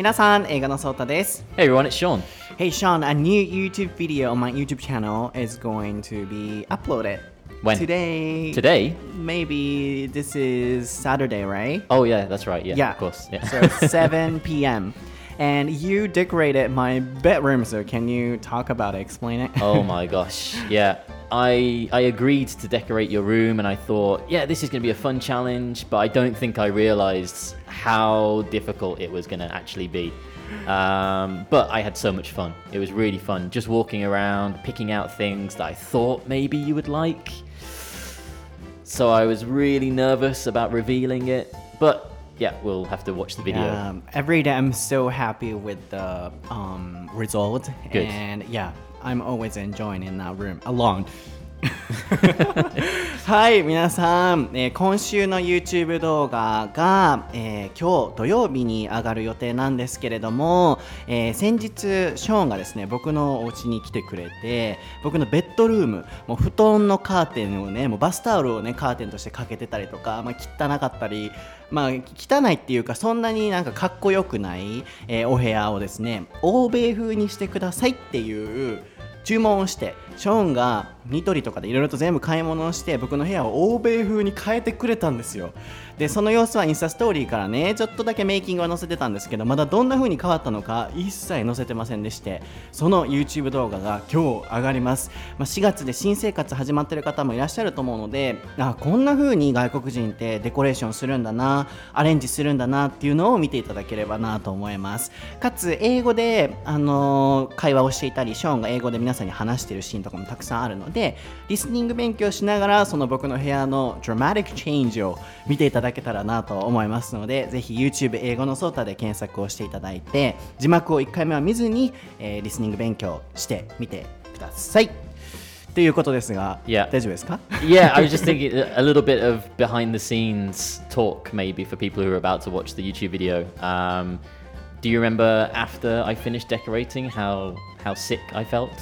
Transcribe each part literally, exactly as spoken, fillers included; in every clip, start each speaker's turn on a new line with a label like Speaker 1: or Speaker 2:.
Speaker 1: 皆さん、映画のソータです。
Speaker 2: Hey everyone, it's Sean.
Speaker 1: Hey Sean, a new YouTube video on my YouTube channel is going to be uploaded.
Speaker 2: When?
Speaker 1: Today.
Speaker 2: Today?
Speaker 1: Maybe this is Saturday, right?
Speaker 2: Oh yeah, that's right. Yeah,
Speaker 1: Yeah.
Speaker 2: of course. Yeah.
Speaker 1: So seven p.m. And you decorated my bedroom, so can you talk about it, explain it?
Speaker 2: Oh my gosh. Yeah. I I agreed to decorate your room and I thought, yeah, this is going to be a fun challenge, but I don't think I realized how difficult it was going to actually be. Um, but I had so much fun. It was really fun just walking around, picking out things that I thought maybe you would like. So I was really nervous about revealing it, but yeah, we'll have to watch the video.
Speaker 1: Um, every day I'm so happy with the um, result.
Speaker 2: Good.
Speaker 1: And yeah, I'm always enjoying in that room alone. はい、皆さん、えー、今週の YouTube 動画が、えー、今日土曜日に上がる予定なんですけれども、えー、先日ショーンがですね、僕のお家に来てくれて、僕のベッドルーム、もう布団のカーテンをね、もうバスタオルをねカーテンとしてかけてたりとか、まあ、汚かったり、まあ汚いっていうかそんなになんかかっこよくない、えー、お部屋をですね、欧米風にしてくださいっていう注文をして、ショーンがニトリとかでいろいろと全部買い物をして僕の部屋を欧米風に変えてくれたんですよ。でその様子はインスタストーリーからねちょっとだけメイキングは載せてたんですけど、まだどんな風に変わったのか一切載せてませんでして、その YouTube 動画が今日上がります。まあ、しがつで新生活始まってる方もいらっしゃると思うので、あこんな風に外国人ってデコレーションするんだな、アレンジするんだなっていうのを見ていただければなと思います。かつ英語で、あのー、会話をしていたり、ショーンが英語で皆さんに話しているシーンとかもたくさんあるので、リスニング勉強しながらその僕の部屋のドラマティックチェンジを見ていただけたらなと思いますので、ぜひ YouTube 英語のソータで検索をしていただいて、字幕をいっかいめは見ずに、えー、リスニング勉強してみてくださいということですが、
Speaker 2: yeah.
Speaker 1: 大丈夫ですか？
Speaker 2: Yeah, I was just thinking a little bit of behind the scenes talk maybe for people who are about to watch the YouTube video. Um, do you remember after I finished decorating how how sick I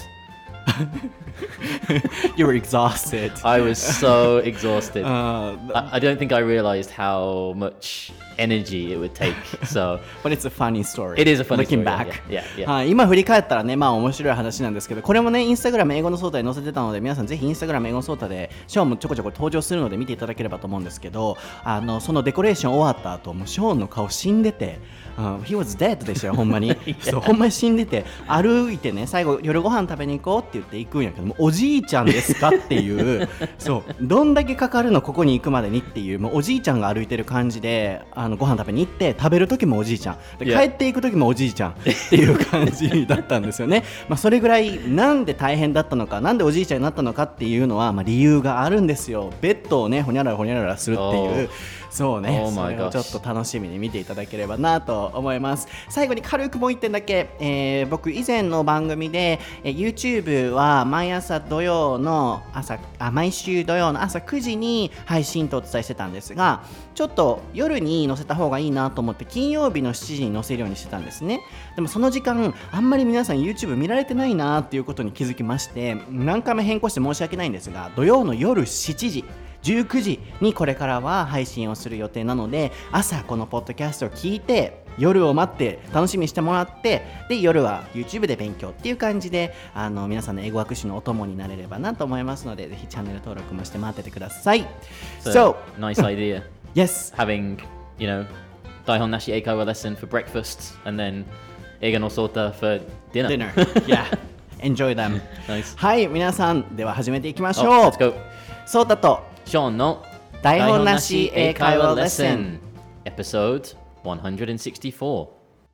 Speaker 2: felt?You were exhausted. I was so exhausted. Uh, I, I don't think I realized how much energy it would take. So,
Speaker 1: but it's a funny story.
Speaker 2: It is a funny
Speaker 1: Looking
Speaker 2: story.
Speaker 1: back.
Speaker 2: Yeah, yeah, yeah.
Speaker 1: はい、今振り返ったらね、まあ面白い話なんですけど、これもね、インスタグラム英語のソータで載せてたので、皆さんぜひインスタグラム英語のソータでショーンもちょこちょこ登場するので見ていただければと思うんですけど、あのそのデコレーション終わった後、もうショーンの顔死んでて。Uh, he was dead でしたよ、ほんまに。そう、ほんまに死んでて、歩いてね、最後夜ご飯食べに行こうって言って行くんやけども、おじいちゃんですかっていうそう、どんだけかかるのここに行くまでにっていう、もうおじいちゃんが歩いてる感じで、あのご飯食べに行って、食べる時もおじいちゃんで、帰っていく時もおじいちゃんっていう感じだったんですよね。まあそれぐらいなんで大変だったのか、なんでおじいちゃんになったのかっていうのは、まあ、理由があるんですよ。ベッドをねほにゃららほにゃららするっていう、そうね、
Speaker 2: oh
Speaker 1: それをちょっと楽しみに見ていただければなと思います。最後に軽くもういってんだけ、えー、僕以前の番組で、えー、YouTube は毎朝土曜の朝あ毎週土曜の朝くじに配信とお伝えしてたんですが、ちょっと夜に載せた方がいいなと思って金曜日のしちじに載せるようにしてたんですね。でもその時間あんまり皆さん YouTube 見られてないなっていうことに気づきまして、何回も変更して申し訳ないんですが、土曜の夜しちじじゅうくじにこれからは配信をする予定なので、朝このポッドキャストを聞いて夜を待って楽しみにしてもらって、で夜は YouTube で勉強っていう感じで、あの皆さんの英語学習のお供になれればなと思いますので、ぜひチャンネル登録もして待っててください。
Speaker 2: So, nice idea.
Speaker 1: Yes.
Speaker 2: Having, you know, Daihon Nashi Eikaiwa lesson for breakfast and then Eiga no Sota for dinner.
Speaker 1: Dinner. Yeah. Enjoy them.
Speaker 2: Nice.
Speaker 1: はい、皆さんでは始めていきましょう。
Speaker 2: Oh, let's go.
Speaker 1: ソータと
Speaker 2: ショーンの
Speaker 1: 台本なし英会話レッスン
Speaker 2: Episode one sixty-four.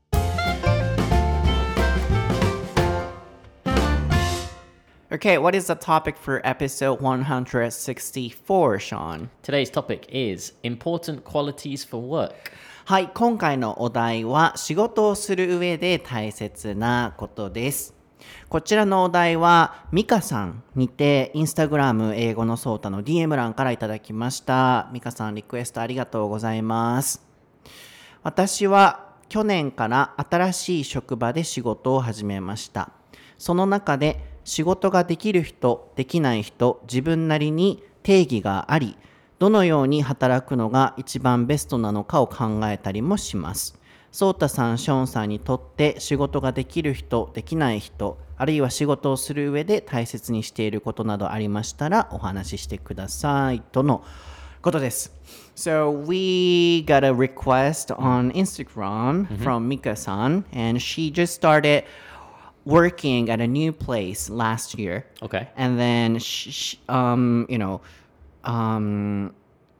Speaker 1: Okay, what is the topic for episode one sixty-four, Sean?
Speaker 2: Today's topic is important qualities for work.
Speaker 1: はい、今回のお題は仕事をする上で大切なことです。こちらのお題はミカさんにてインスタグラム英語のソータの ディーエム 欄からいただきました。ミカさんリクエストありがとうございます。私は去年から新しい職場で仕事を始めました。その中で仕事ができる人、できない人、自分なりに定義があり、どのように働くのが一番ベストなのかを考えたりもします。 ソータさん、ショーンさんにとって仕事ができる人、できない人、あるいは仕事をする上で大切にしていることなどありましたらお話ししてくださいとのことです。So we got a request on Instagram from Mika-san, and she just started working at a new place last year.
Speaker 2: Okay.
Speaker 1: And then, she, she, um, you know, um,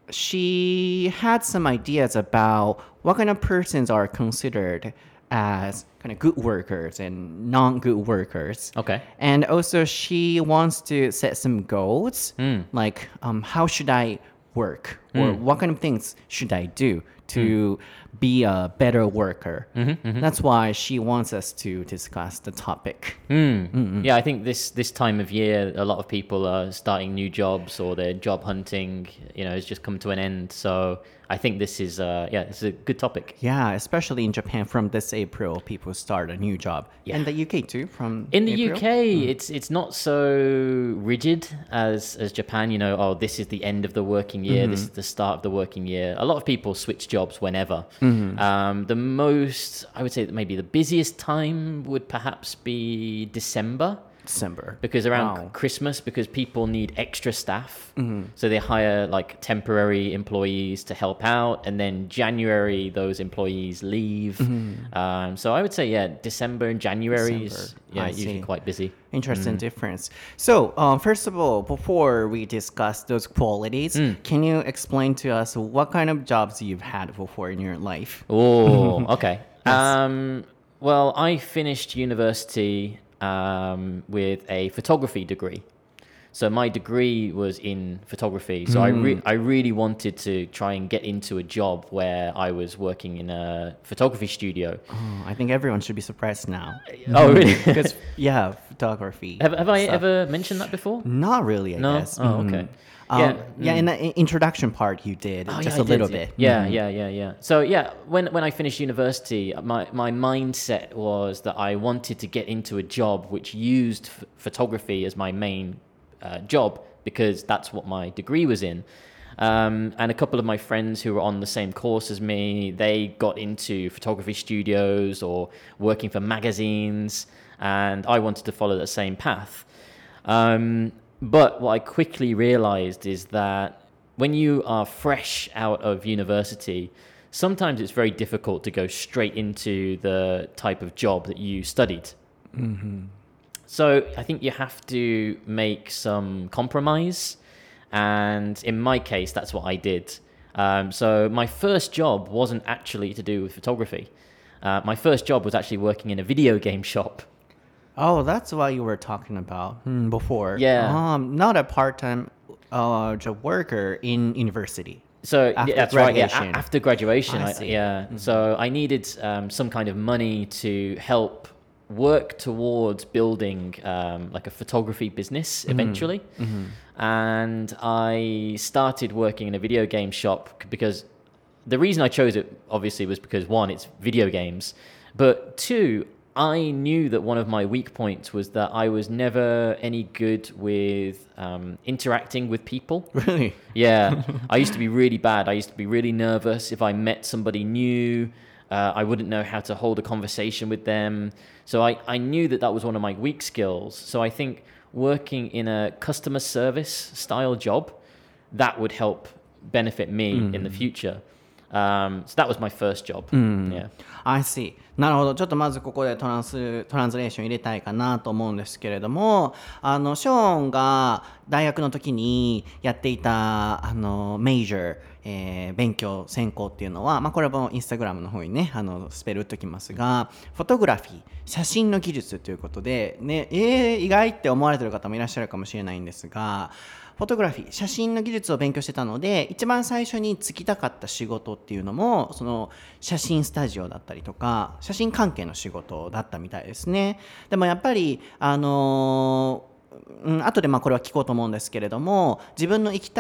Speaker 1: she had some ideas about what kind of persons are considered as kind of good workers and non-good workers.
Speaker 2: Okay.
Speaker 1: And also, she wants to set some goals, like um, how should I work, or what kind of things should I do to be a better worker. That's why she wants us to discuss the topic.
Speaker 2: Yeah, I think this this time of year, a lot of people are starting new jobs or their job hunting, you know, has just come to an end. So I think this is, uh, yeah, this is a good topic.
Speaker 1: Yeah, especially in Japan, from this April, people start a new job.
Speaker 2: Yeah.
Speaker 1: And the U K too, from
Speaker 2: In the
Speaker 1: April?
Speaker 2: U K, it's it's not so rigid as as Japan. You know, oh, this is the end of the working year. This is the start of the working year. A lot of people switch jobs whenever. Um, the most, I would say, that maybe the busiest time would perhaps be December.
Speaker 1: December.
Speaker 2: Because around
Speaker 1: Wow.
Speaker 2: Christmas, because people need extra staff, so they hire like temporary employees to help out, and then January those employees leave. Um, so I would say, yeah, December and January is
Speaker 1: December.
Speaker 2: yeah
Speaker 1: I
Speaker 2: usually
Speaker 1: see.
Speaker 2: quite busy.
Speaker 1: Interesting difference. So, um, first of all, before we discuss those qualities, can you explain to us what kind of jobs you've had before in your life?
Speaker 2: Oh, okay. Um, well, I finished university um, with a photography degree. So my degree was in photography. So I re- I really wanted to try and get into a job where I was working in a photography studio.
Speaker 1: Oh, I think everyone should be surprised now.
Speaker 2: Oh, really?
Speaker 1: Because, yeah, photography.
Speaker 2: have have I
Speaker 1: stuff.
Speaker 2: ever mentioned that before?
Speaker 1: Not really, I
Speaker 2: No?
Speaker 1: guess.
Speaker 2: Oh,
Speaker 1: Mhm.
Speaker 2: okay.
Speaker 1: Um,
Speaker 2: Yeah,
Speaker 1: yeah, in the i- introduction part you did,
Speaker 2: Oh,
Speaker 1: just
Speaker 2: yeah,
Speaker 1: a
Speaker 2: I
Speaker 1: little
Speaker 2: did.
Speaker 1: bit.
Speaker 2: Yeah, yeah, yeah, yeah. So yeah, when when I finished university, my my mindset was that I wanted to get into a job which used f- photography as my main uh, job, because that's what my degree was in. Um, and a couple of my friends who were on the same course as me, they got into photography studios or working for magazines, and I wanted to follow the same path. Um, but what I quickly realized is that when you are fresh out of university, sometimes it's very difficult to go straight into the type of job that you studied. So I think you have to make some compromise. And in my case, that's what I did. Um, so my first job wasn't actually to do with photography. Uh, my first job was actually working in a video game shop.
Speaker 1: Oh, that's what you were talking about mm, before.
Speaker 2: Yeah.
Speaker 1: Um, not a part-time uh, job worker in university.
Speaker 2: So
Speaker 1: After
Speaker 2: yeah, that's right. Yeah,
Speaker 1: graduation.
Speaker 2: a- after graduation,
Speaker 1: I
Speaker 2: I,
Speaker 1: see.
Speaker 2: yeah. So I needed um, some kind of money to help work towards building um, like a photography business eventually. And I started working in a video game shop c- because the reason I chose it obviously was because one, it's video games, but two, I knew that one of my weak points was that I was never any good with um, interacting with people.
Speaker 1: Really?
Speaker 2: Yeah, I used to be really bad. I used to be really nervous if I met somebody new. Uh, I wouldn't know how to hold a conversation with them. So I, I knew that that was one of my weak skills. So I think working in a customer service style job, that would help benefit me in the future. Um, so that was my first job. Yeah.
Speaker 1: I see. なるほど。ちょっとまずここでトランストランスレーション入れたいかなと思うんですけれども、あのショーンが大学の時にやっていたあのメイジャー、えー勉強専攻っていうのは、まあ、これもインスタグラムの方にねあのスペル打っときますが、フォトグラフィー、写真の技術ということで、ね、えー、意外って思われてる方もいらっしゃるかもしれないんですが、フォトグラフィー、写真の技術を勉強してたので、一番最初に就きたかった仕事っていうのもその写真スタジオだったりとか写真関係の仕事だったみたいですね。でもやっぱりあのーうん、後でまあこれは聞こうと思うんですけれども、自分の行きたい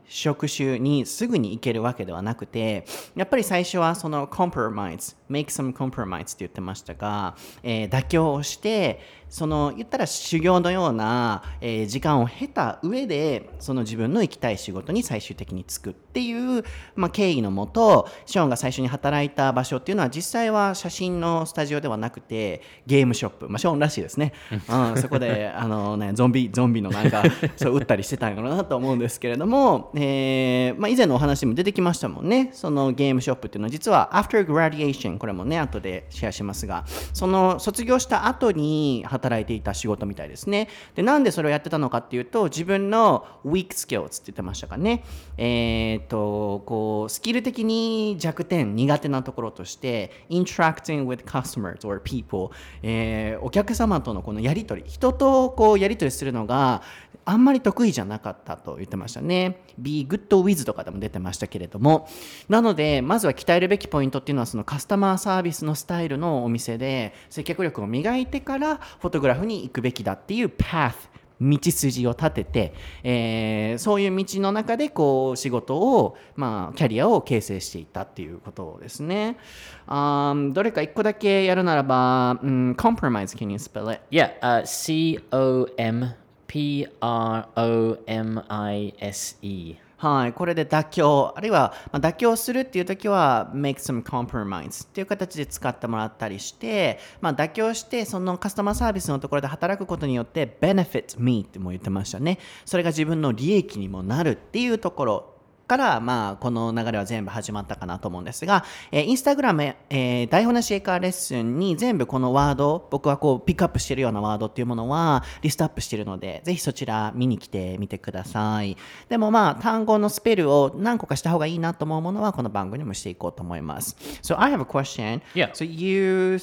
Speaker 1: 職種にすぐに行けるわけではなくて、やっぱり最初はその compromise make some compromise って言ってましたが、えー、妥協をしてその言ったら修行のような、えー、時間を経た上でその自分の行きたい仕事に最終的に就くっていう、まあ、経緯のもとショーンが最初に働いた場所っていうのは実際は写真のスタジオではなくてゲームショップ、まあ、ショーンらしいですね、うん、そこであの、ね、ゾンビゾンビのなんかそう撃ったりしてたんやろうなと思うんですけれども、えーまあ、以前のお話にも出てきましたもんね。そのゲームショップっていうのは実は after graduation、 これもね後でシェアしますが、その卒業した後に働いていた仕事みたいですね。でなんでそれをやってたのかっていうと、自分の weak skills って言ってましたかね、えー、とこうスキル的に弱点苦手なところとして interacting with customers or people、えー、お客様とのこのやり取り、人とこうやり取りするのがあんまり得意じゃなかったと言ってましたね。 Be good with とかでも出てましたけれども、なのでまずは鍛えるべきポイントっていうのはそのカスタマーサービスのスタイルのお店で接客力を磨いてからフォトグラフに行くべきだっていう path、道筋を立てて、えー、そういう道の中でこう仕事を、まあ、キャリアを形成していったっていうことですね。Um, どれか一個だけやるならば、うん、compromise, can you spell it?
Speaker 2: Yeah, uh, C O M P R O M I S E。
Speaker 1: はい、これで妥協、あるいは、まあ、妥協するっていう時は make some compromise っていう形で使ってもらったりして、まあ、妥協してそのカスタマーサービスのところで働くことによって benefit me っても言ってましたね。それが自分の利益にもなるっていうところから、まあ、この流れは全部始まったかなと思うんですが、えー、インスタグラム、えー、台本なし英会話レッスンに全部このワード、僕はこうピックアップしているようなワードっていうものはリストアップしているので、ぜひそちら見に来てみてください。でもまあ単語のスペルを何個かした方がいいなと思うものはこの番組にもしていこうと思います。So I have a question.
Speaker 2: Yeah.
Speaker 1: So you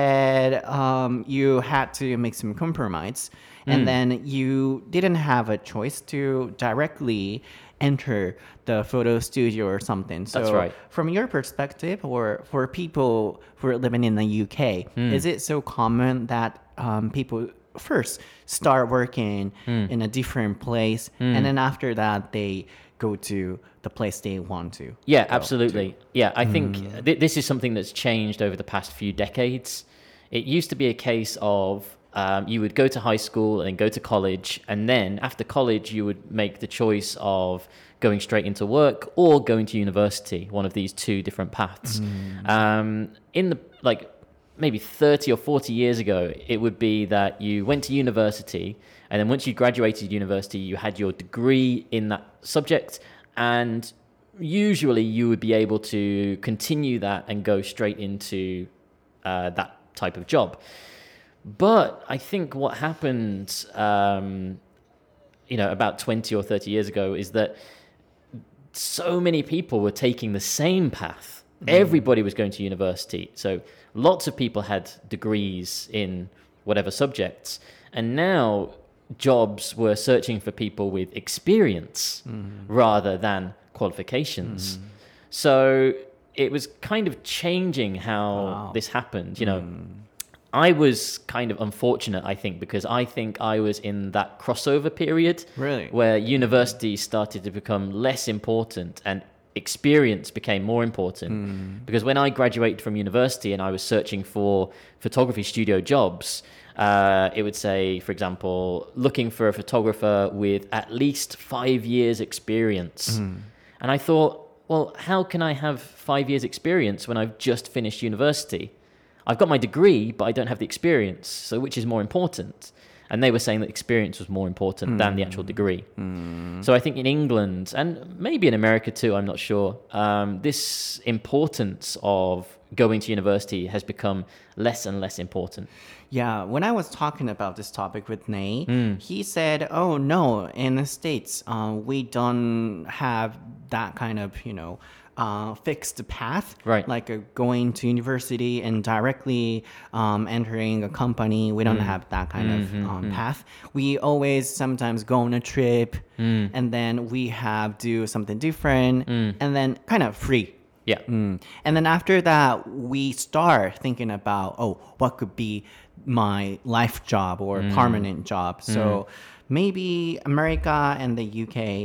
Speaker 1: said、um, you had to make some compromise and、mm. then you didn't have a choice to directly enter the photo studio or something. So
Speaker 2: That's right.
Speaker 1: From your perspective, or for people who are living in the U K, mm. is it so common that um, people first start working mm. in a different place, mm. and then after that they go to the place they want to?
Speaker 2: Yeah, absolutely. To. Yeah, I think mm. th- this is something that's changed over the past few decades. It used to be a case of Um, you would go to high school and then go to college, and then after college you would make the choice of going straight into work or going to university, one of these two different paths. Mm. Um, in the like maybe thirty or forty years ago, it would be that you went to university, and then once you graduated university you had your degree in that subject, and usually you would be able to continue that and go straight into uh, that type of job. But I think what happened, um, you know, about twenty or thirty years ago is that so many people were taking the same path. Mm. Everybody was going to university. So lots of people had degrees in whatever subjects. And now jobs were searching for people with experience mm. rather than qualifications. Mm. So it was kind of changing how wow. this happened, you know. Mm. I was kind of unfortunate, I think, because I think I was in that crossover period
Speaker 1: really?
Speaker 2: where university started to become less important and experience became more important. Mm. Because when I graduated from university and I was searching for photography studio jobs, uh, it would say, for example, looking for a photographer with at least five years experience. Mm. And I thought, well, how can I have five years experience when I've just finished university? I've got my degree, but I don't have the experience. So which is more important? And they were saying that experience was more important mm. than the actual degree. Mm. So I think in England, and maybe in America too, I'm not sure, um, this importance of going to university has become less and less important.
Speaker 1: Yeah, when I was talking about this topic with Nate, mm. he said, oh no, in the States, uh, we don't have that kind of, you know, Uh, fixed path,
Speaker 2: right?
Speaker 1: Like uh, going to university and directly um, entering a company. We don't mm. have that kind mm-hmm, of um, mm. path. We always sometimes go on a trip, mm. and then we have do something different, mm. and then kind of free.
Speaker 2: Yeah.
Speaker 1: Mm. And then after that, we start thinking about, oh, what could be my life job or mm. permanent job. So mm. maybe America and the U K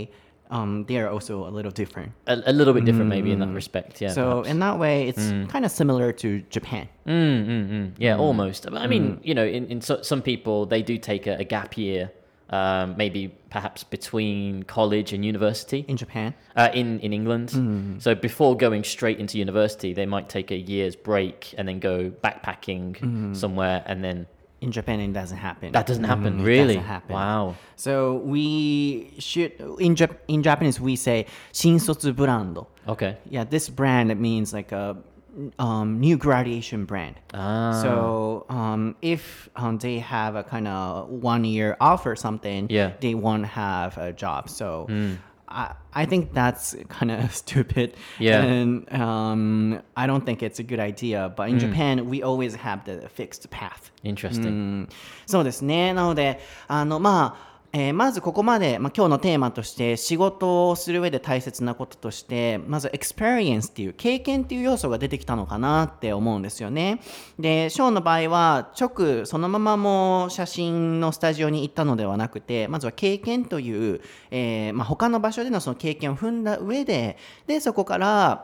Speaker 1: um, they are also a little different.
Speaker 2: A, a little bit different, maybe in that respect. Yeah.
Speaker 1: So
Speaker 2: perhaps.
Speaker 1: in that way, it's kind of similar to Japan.
Speaker 2: Mm, mm, mm. Yeah, almost. I mean, you know, in, in so, some people, they do take a, a gap year, um, maybe perhaps between college and university.
Speaker 1: In Japan?
Speaker 2: Uh, in, in England. So before going straight into university, they might take a year's break and then go backpacking somewhere and then...
Speaker 1: In Japan, it doesn't happen.
Speaker 2: That doesn't happen,
Speaker 1: Mm,
Speaker 2: really?
Speaker 1: It doesn't happen.
Speaker 2: Wow.
Speaker 1: So we should, in, Jap- in Japanese, we say 新卒ブランド.
Speaker 2: Okay.
Speaker 1: Yeah, this brand, it means like a um, new graduation brand.
Speaker 2: Ah.
Speaker 1: So um, if um, they have a kind of one year off or something,
Speaker 2: Yeah.
Speaker 1: they won't have a job. So I, I think that's kind of stupid.
Speaker 2: Yeah.
Speaker 1: And um, I don't think it's a good idea. But in Japan, we always have the fixed path.
Speaker 2: Interesting.
Speaker 1: うんそうですね。なので、あの、まあ、えーまずここまで、まあ、今日のテーマとして仕事をする上で大切なこととしてまず experience っていう経験っていう要素が出てきたのかなって思うんですよね。でショーンの場合は直そのままもう写真のスタジオに行ったのではなくてまずは経験という、えーまあ、他の場所でのその経験を踏んだ上ででそこから、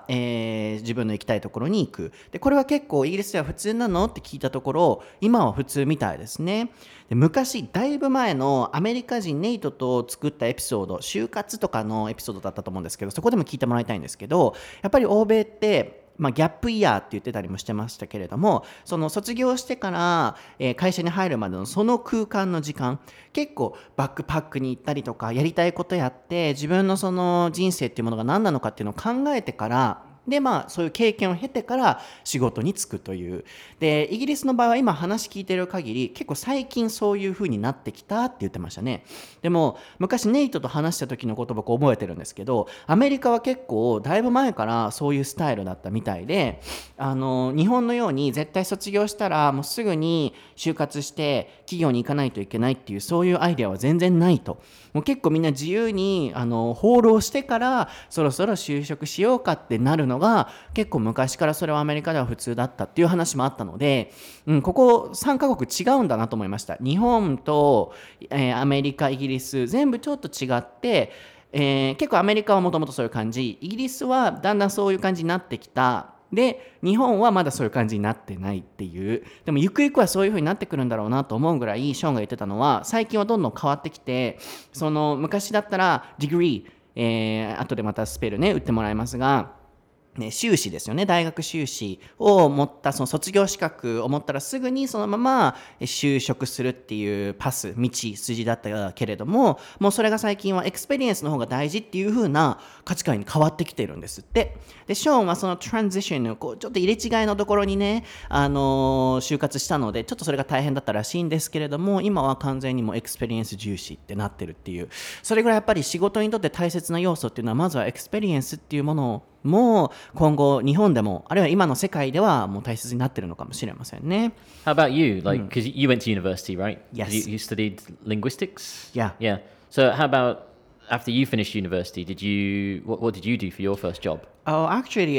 Speaker 1: えー自分の行きたいところに行く。でこれは結構イギリスでは普通なのって聞いたところ今は普通みたいですね。で昔だいぶ前のアメリカ人ネイトと作ったエピソード就活とかのエピソードだったと思うんですけどそこでも聞いてもらいたいんですけどやっぱり欧米ってまあ、ギャップイヤーって言ってたりもしてましたけれどもその卒業してから、えー会社に入るまでのその空間の時間結構バックパックに行ったりとかやりたいことやって自分のその人生っていうものが何なのかっていうのを考えてからでまあそういう経験を経てから仕事に就くというでイギリスの場合は今話聞いてる限り結構最近そういう風になってきたって言ってましたね。でも昔ネイトと話した時のこと僕覚えてるんですけどアメリカは結構だいぶ前からそういうスタイルだったみたいであの日本のように絶対卒業したらもうすぐに就活して企業に行かないといけないっていうそういうアイデアは全然ないともう結構みんな自由にあの放浪してからそろそろ就職しようかってなるのが結構昔からそれはアメリカでは普通だったっていう話もあったので、うん、ここさんカ国違うんだなと思いました。日本と、えーアメリカイギリス全部ちょっと違ってえー結構アメリカはもともとそういう感じイギリスはだんだんそういう感じになってきたで日本はまだそういう感じになってないっていうでもゆくゆくはそういう風になってくるんだろうなと思うぐらいショーンが言ってたのは最近はどんどん変わってきてその昔だったらディグリー、えー、後でまたスペルね打ってもらいますがね、修士ですよね大学修士を持ったその卒業資格を持ったらすぐにそのまま就職するっていうパス道筋だったけれどももうそれが最近はエクスペリエンスの方が大事っていう風な価値観に変わってきてるんですってでショーンはそのトランジションのこうちょっと入れ違いのところにね、あのー就活したのでちょっとそれが大変だったらしいんですけれども今は完全にもうエクスペリエンス重視ってなってるっていうそれぐらいやっぱり仕事にとって大切な要素っていうのはまずはエクスペリエンスっていうものをもう今後日本でもあるいは今の世界ではもう大切になってるのかもしれませんね。
Speaker 2: How about you? Like, because you went to university, right?
Speaker 1: Yes.
Speaker 2: You, you studied linguistics?
Speaker 1: Yeah.
Speaker 2: Yeah. So how about after you finished university, did you, what, what did you do for your first job?
Speaker 1: Oh, actually,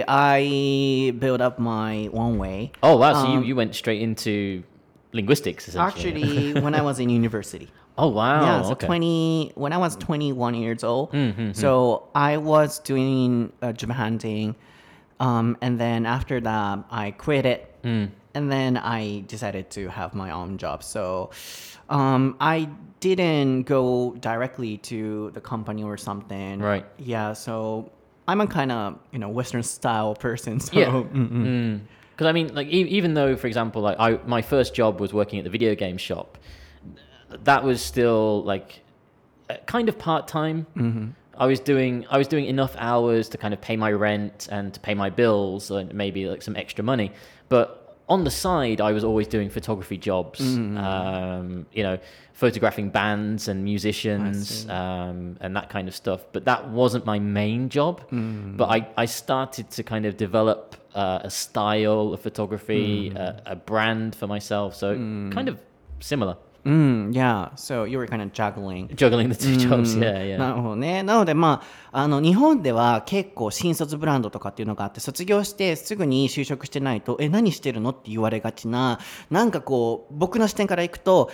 Speaker 1: I built up my own way.
Speaker 2: Oh, wow. So you, you went straight into linguistics, essentially.
Speaker 1: Actually, when I was in university.
Speaker 2: Oh, wow.
Speaker 1: Yeah, so
Speaker 2: okay.
Speaker 1: twenty when I was twenty-one years old. So I was doing uh, job hunting, um, and then after that I quit it, and then I decided to have my own job. So um, I didn't go directly to the company or something.
Speaker 2: Right.
Speaker 1: Yeah. So I'm a kind of you know Western style person. So
Speaker 2: Yeah.
Speaker 1: mm-mm.
Speaker 2: Because I mean, like, e- even though, for example, like, I my first job was working at the video game shop, that was still like uh, kind of part time. Mm-hmm. I was doing I was doing enough hours to kind of pay my rent and to pay my bills and maybe like some extra money, but on the side, I was always doing photography jobs. Mm-hmm. Um, you know, photographing bands and musicians um, and that kind of stuff. But that wasn't my main job. Mm-hmm. But I, I started to kind of develop uh, a style of photography, mm-hmm. a, a brand for myself. So mm-hmm. kind of similar.
Speaker 1: Mm, yeah, so you were kind of juggling.
Speaker 2: Juggling the two jobs, yeah, yeah.
Speaker 1: なるほどね。なので、まあ、あの日本では結構新卒ブランドとかっていうのがあって卒業してすぐに就職してないとえ何してるのって言われがちななんかこう僕の視点からいくと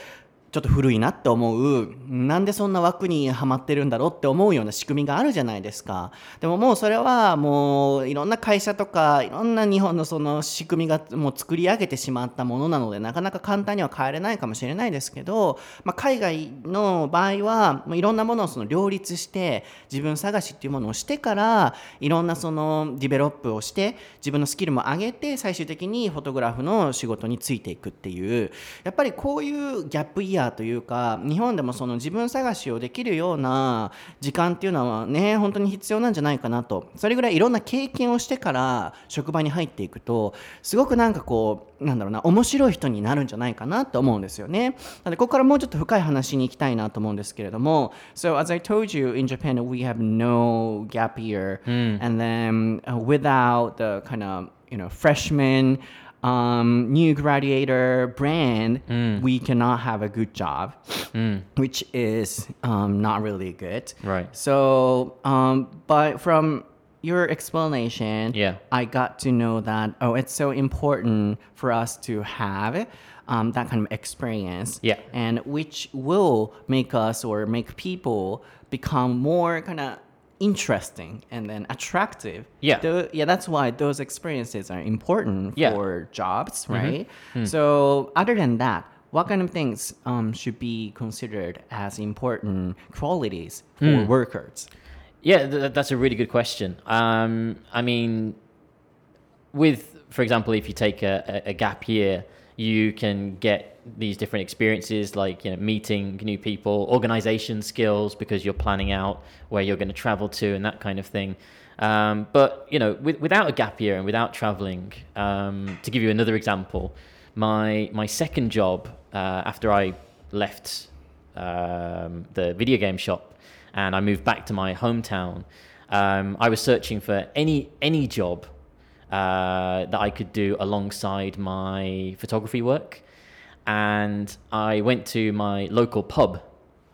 Speaker 1: ちょっと古いなって思う、なんでそんな枠にはまってるんだろうって思うような仕組みがあるじゃないですか。でももうそれはもういろんな会社とかいろんな日本のその仕組みがもう作り上げてしまったものなので、なかなか簡単には変えれないかもしれないですけど、まあ、海外の場合はもういろんなものをその両立して自分探しっていうものをしてから、いろんなそのディベロップをして自分のスキルも上げて最終的にフォトグラフの仕事についていくっていう、やっぱりこういうギャップイヤーというか、日本でもその自分探しをできるような時間っていうのはね、本当に必要なんじゃないかなと。それぐらいいろんな経験をしてから職場に入っていくと、すごくなんかこうなんだろうな、面白い人になるんじゃないかなと思うんですよね。なのでここからもうちょっと深い話に行きたいなと思うんですけれども、 So as I told you, in Japan we have no gap year、and then、uh, without the kind of you know freshman um, new graduator brand, we cannot have a good job, which is um, not really good.
Speaker 2: Right.
Speaker 1: So, um, but from your explanation,
Speaker 2: Yeah.
Speaker 1: I got to know that, oh, it's so important for us to have um, that kind of experience,
Speaker 2: Yeah.
Speaker 1: and which will make us or make people become more kind of interesting and then attractive.
Speaker 2: Yeah.
Speaker 1: Tho- yeah, that's why those experiences are important
Speaker 2: Yeah.
Speaker 1: for jobs, right? So other than that, what kind of things um, should be considered as important qualities for workers?
Speaker 2: Yeah, th- that's a really good question. Um, I mean, with, for example, if you take a, a, a gap year, you can get these different experiences like, you know, meeting new people, organization skills, because you're planning out where you're going to travel to and that kind of thing. Um, but, you know, with, without a gap year and without traveling, um, to give you another example, my my second job uh, after I left um, the video game shop and I moved back to my hometown, um, I was searching for any any job uh, that I could do alongside my photography work. And I went to my local pub.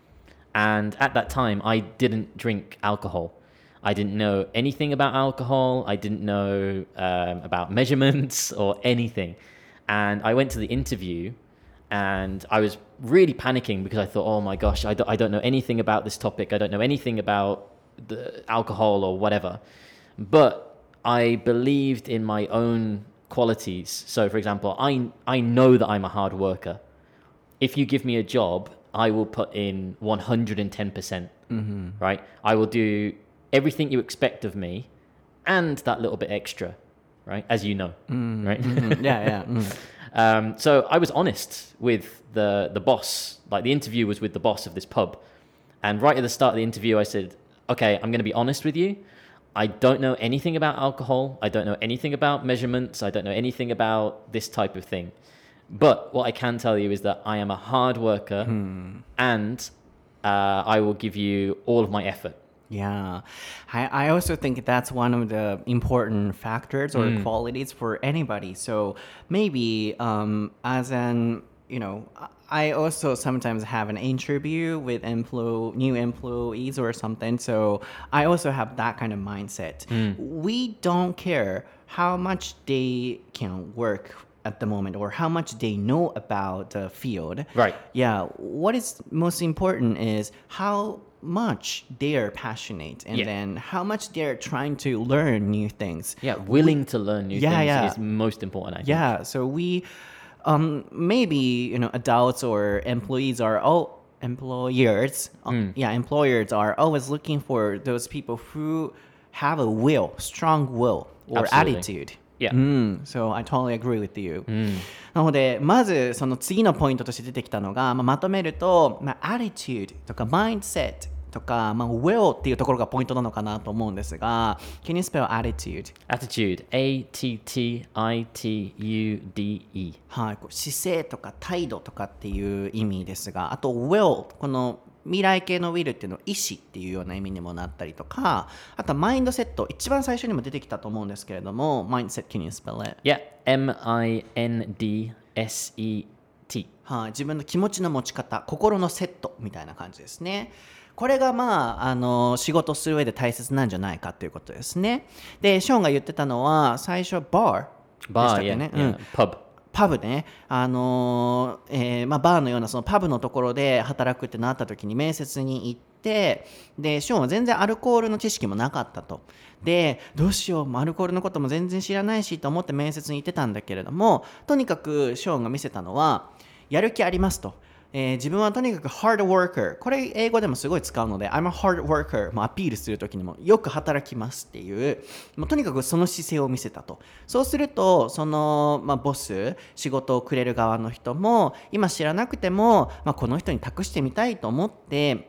Speaker 2: And at that time, I didn't drink alcohol. I didn't know anything about alcohol. I didn't know um, about measurements or anything. And I went to the interview and I was really panicking because I thought, oh my gosh, I don't, I don't know anything about this topic. I don't know anything about the alcohol or whatever. But I believed in my own qualities. So, for example, I I know that I'm a hard worker. If you give me a job, I will put in one hundred ten percent, mm-hmm. right? I will do everything you expect of me and that little bit extra, right? As you know, mm-hmm. right?
Speaker 1: Mm-hmm. Yeah, yeah. Mm.
Speaker 2: um, so I was honest with the, the boss. Like, the interview was with the boss of this pub. And right at the start of the interview, I said, okay, I'm going to be honest with you. I don't know anything about alcohol. I don't know anything about measurements. I don't know anything about this type of thing. But what I can tell you is that I am a hard worker, hmm. and uh, I will give you all of my effort.
Speaker 1: Yeah, I, I also think that's one of the important factors or mm. qualities for anybody. So maybe um, as an, you know, I also sometimes have an interview with employ- new employees or something. So I also have that kind of mindset. Mm. We don't care how much they can work at the moment or how much they know about the field.
Speaker 2: Right.
Speaker 1: Yeah. What is most important is how much they are passionate and yeah. then how much they're trying to learn new things.
Speaker 2: Yeah, willing we, to learn new yeah, things yeah. is most important, I think.
Speaker 1: Yeah, so we um maybe, you know, adults or employees are all employers mm. uh, yeah employers are always looking for those people who have a will, strong will or
Speaker 2: Absolutely.
Speaker 1: attitude.Yeah. Mm, so I totally agree with you. Mm. なのでまずその次のポイントとして出てきたのが、まあ、まとめると、まあ、attitude とか mindset とか、まあ、will っていうところがポイントなのかなと思うんですが、 Can you spell attitude?
Speaker 2: Attitude, A T T I T U D E
Speaker 1: はい、こう姿勢とか態度とかっていう意味ですが、あと will この未来系の will っていうのは意思っていうような意味にもなったりとか、あとはマインドセット、一番最初にも出てきたと思うんですけれども、mindset, can you spell it?
Speaker 2: Yeah, M I N D S E T
Speaker 1: はい、自分の気持ちの持ち方、心のセットみたいな感じですね。これがまあ、あの仕事する上で大切なんじゃないかということですね。で、ショーンが言ってたのは最初バーでしたっけね、
Speaker 2: バー、yeah, yeah. うん、pub
Speaker 1: パブね、あのーえーまあ、バーのようなそのパブのところで働くってなった時に面接に行って、でショーンは全然アルコールの知識もなかったと。でどうしよう、アルコールのことも全然知らないしと思って面接に行ってたんだけれども、とにかくショーンが見せたのはやる気ありますと。えー自分はとにかく hard worker、 これ英語でもすごい使うので I'm a hard worker もアピールするときにもよく働きますっていう、もうとにかくその姿勢を見せたと。そうするとその、まあ、ボス、仕事をくれる側の人も今知らなくても、まあ、この人に託してみたいと思って、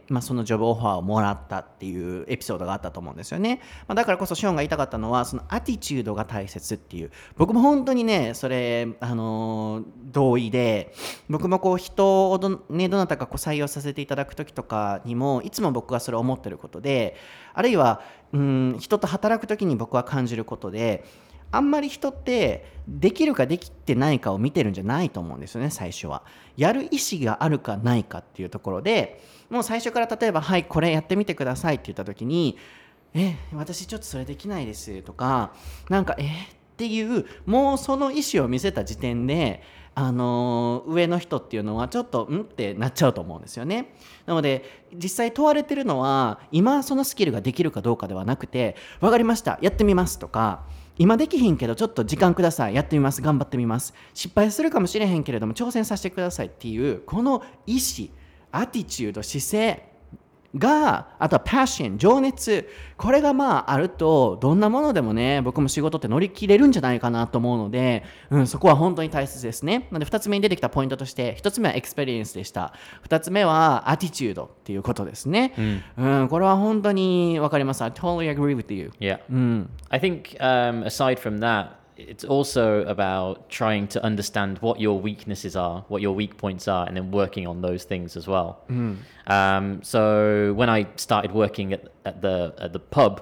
Speaker 1: まあ、そのジョブオファーをもらったっていうエピソードがあったと思うんですよね。まあ、だからこそショーンが言いたかったのはそのアティチュードが大切っていう、僕も本当にねそれ、あのー同意で、僕もこう人をど,、ね、どなたかこう採用させていただく時とかにもいつも僕はそれを思ってることで、あるいはうん人と働く時に僕は感じることで、あんまり人ってできるかできてないかを見てるんじゃないと思うんですよね。最初はやる意思があるかないかっていうところで、もう最初から例えばはいこれやってみてくださいって言った時に、え私ちょっとそれできないですとか、なんかえっていうもうその意思を見せた時点で、あのー上の人っていうのはちょっとんってなっちゃうと思うんですよね。なので実際問われてるのは今そのスキルができるかどうかではなくて、分かりましたやってみますとか、今できひんけどちょっと時間くださいやってみます頑張ってみます、失敗するかもしれへんけれども挑戦させてくださいっていうこの意思、アティチュード、姿勢が、あとはパッション、情熱、これがまああるとどんなものでもね、僕も仕事って乗り切れるんじゃないかなと思うので、うん、そこは本当に大切ですね。なのでふたつめに出てきたポイントとして、ひとつめはエクスペリエンスでした。ふたつめはアティチュードっていうことですね。うん、これは本当に分かります。I totally agree with you.
Speaker 2: Yeah. I think um, aside from that, it's also about trying to understand what your weaknesses are, what your weak points are, and then working on those things as well. Um, so when I started working at, at the at the pub,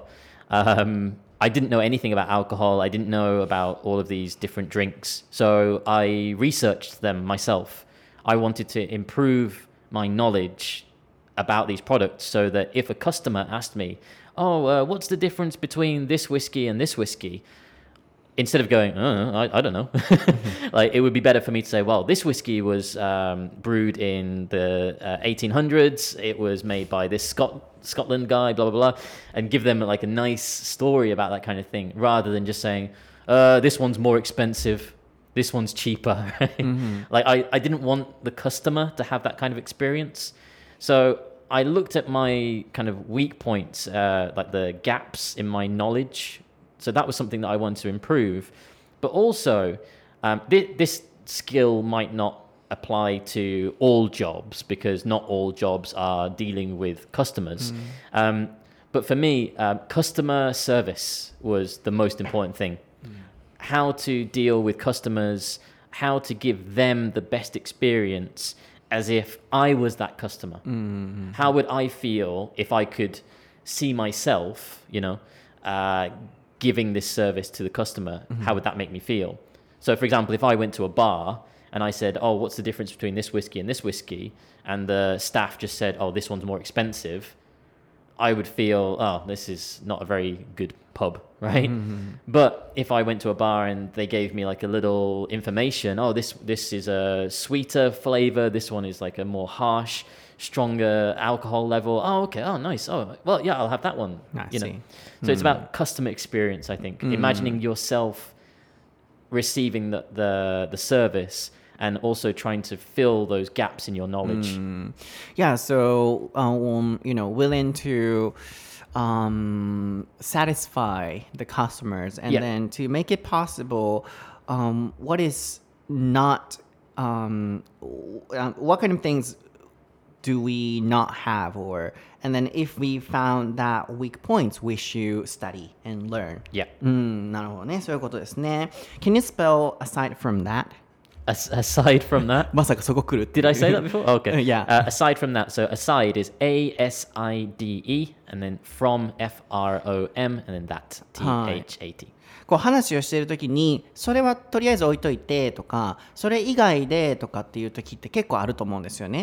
Speaker 2: um, I didn't know anything about alcohol. I didn't know about all of these different drinks. So I researched them myself. I wanted to improve my knowledge about these products so that if a customer asked me, oh, uh, what's the difference between this whiskey and this whiskey? Instead of going, uh, I, I don't know, like it would be better for me to say, well, this whiskey was um, brewed in the uh, eighteen hundreds. It was made by this Scot- Scotland guy, blah, blah, blah, and give them like a nice story about that kind of thing, rather than just saying, uh, this one's more expensive, this one's cheaper. Right? Mm-hmm. Like I, I didn't want the customer to have that kind of experience. So I looked at my kind of weak points, uh, like the gaps in my knowledge. So that was something that I wanted to improve. But also, um, th- this skill might not apply to all jobs because not all jobs are dealing with customers. Mm. Um, but for me, uh, customer service was the most important thing. Mm. How to deal with customers, how to give them the best experience as if I was that customer. Mm-hmm. How would I feel if I could see myself, you know, uh, giving this service to the customer? Mm-hmm. How would that make me feel? So, for example, if I went to a bar and I said, oh, what's the difference between this whiskey and this whiskey? And the staff just said, oh, this one's more expensive. I would feel, oh, this is not a very good pub, right? Mm-hmm. But if I went to a bar and they gave me like a little information, oh, this this is a sweeter flavor, this one is like a more harsh, stronger alcohol level. Oh, okay. Oh, nice. Oh, well, yeah, I'll have that one.
Speaker 1: I
Speaker 2: you
Speaker 1: see.
Speaker 2: know, so mm. it's about customer experience, I think. Mm. Imagining yourself receiving the, the the service and also trying to fill those gaps in your knowledge.
Speaker 1: Mm. Yeah. So, um, you know, willing to um, satisfy the customers, and yeah. then to make it possible, um, what is not, um, what kind of things do we not have, or and then if we found that weak points, we should study and learn.
Speaker 2: Yeah.
Speaker 1: うん、なるほどね、そういうことですね。Can you spell aside from that?
Speaker 2: As- aside from that?
Speaker 1: まさかそこ来るって。
Speaker 2: Did I say that before? Oh, okay.
Speaker 1: Yeah.
Speaker 2: Uh, aside from that, so aside is A S I D E, and then from F R O M, and then that T H A T.
Speaker 1: こう話をしているときにそれはとりあえず置いといてとか、それ以外でとかっていうときって結構あると思うんですよね。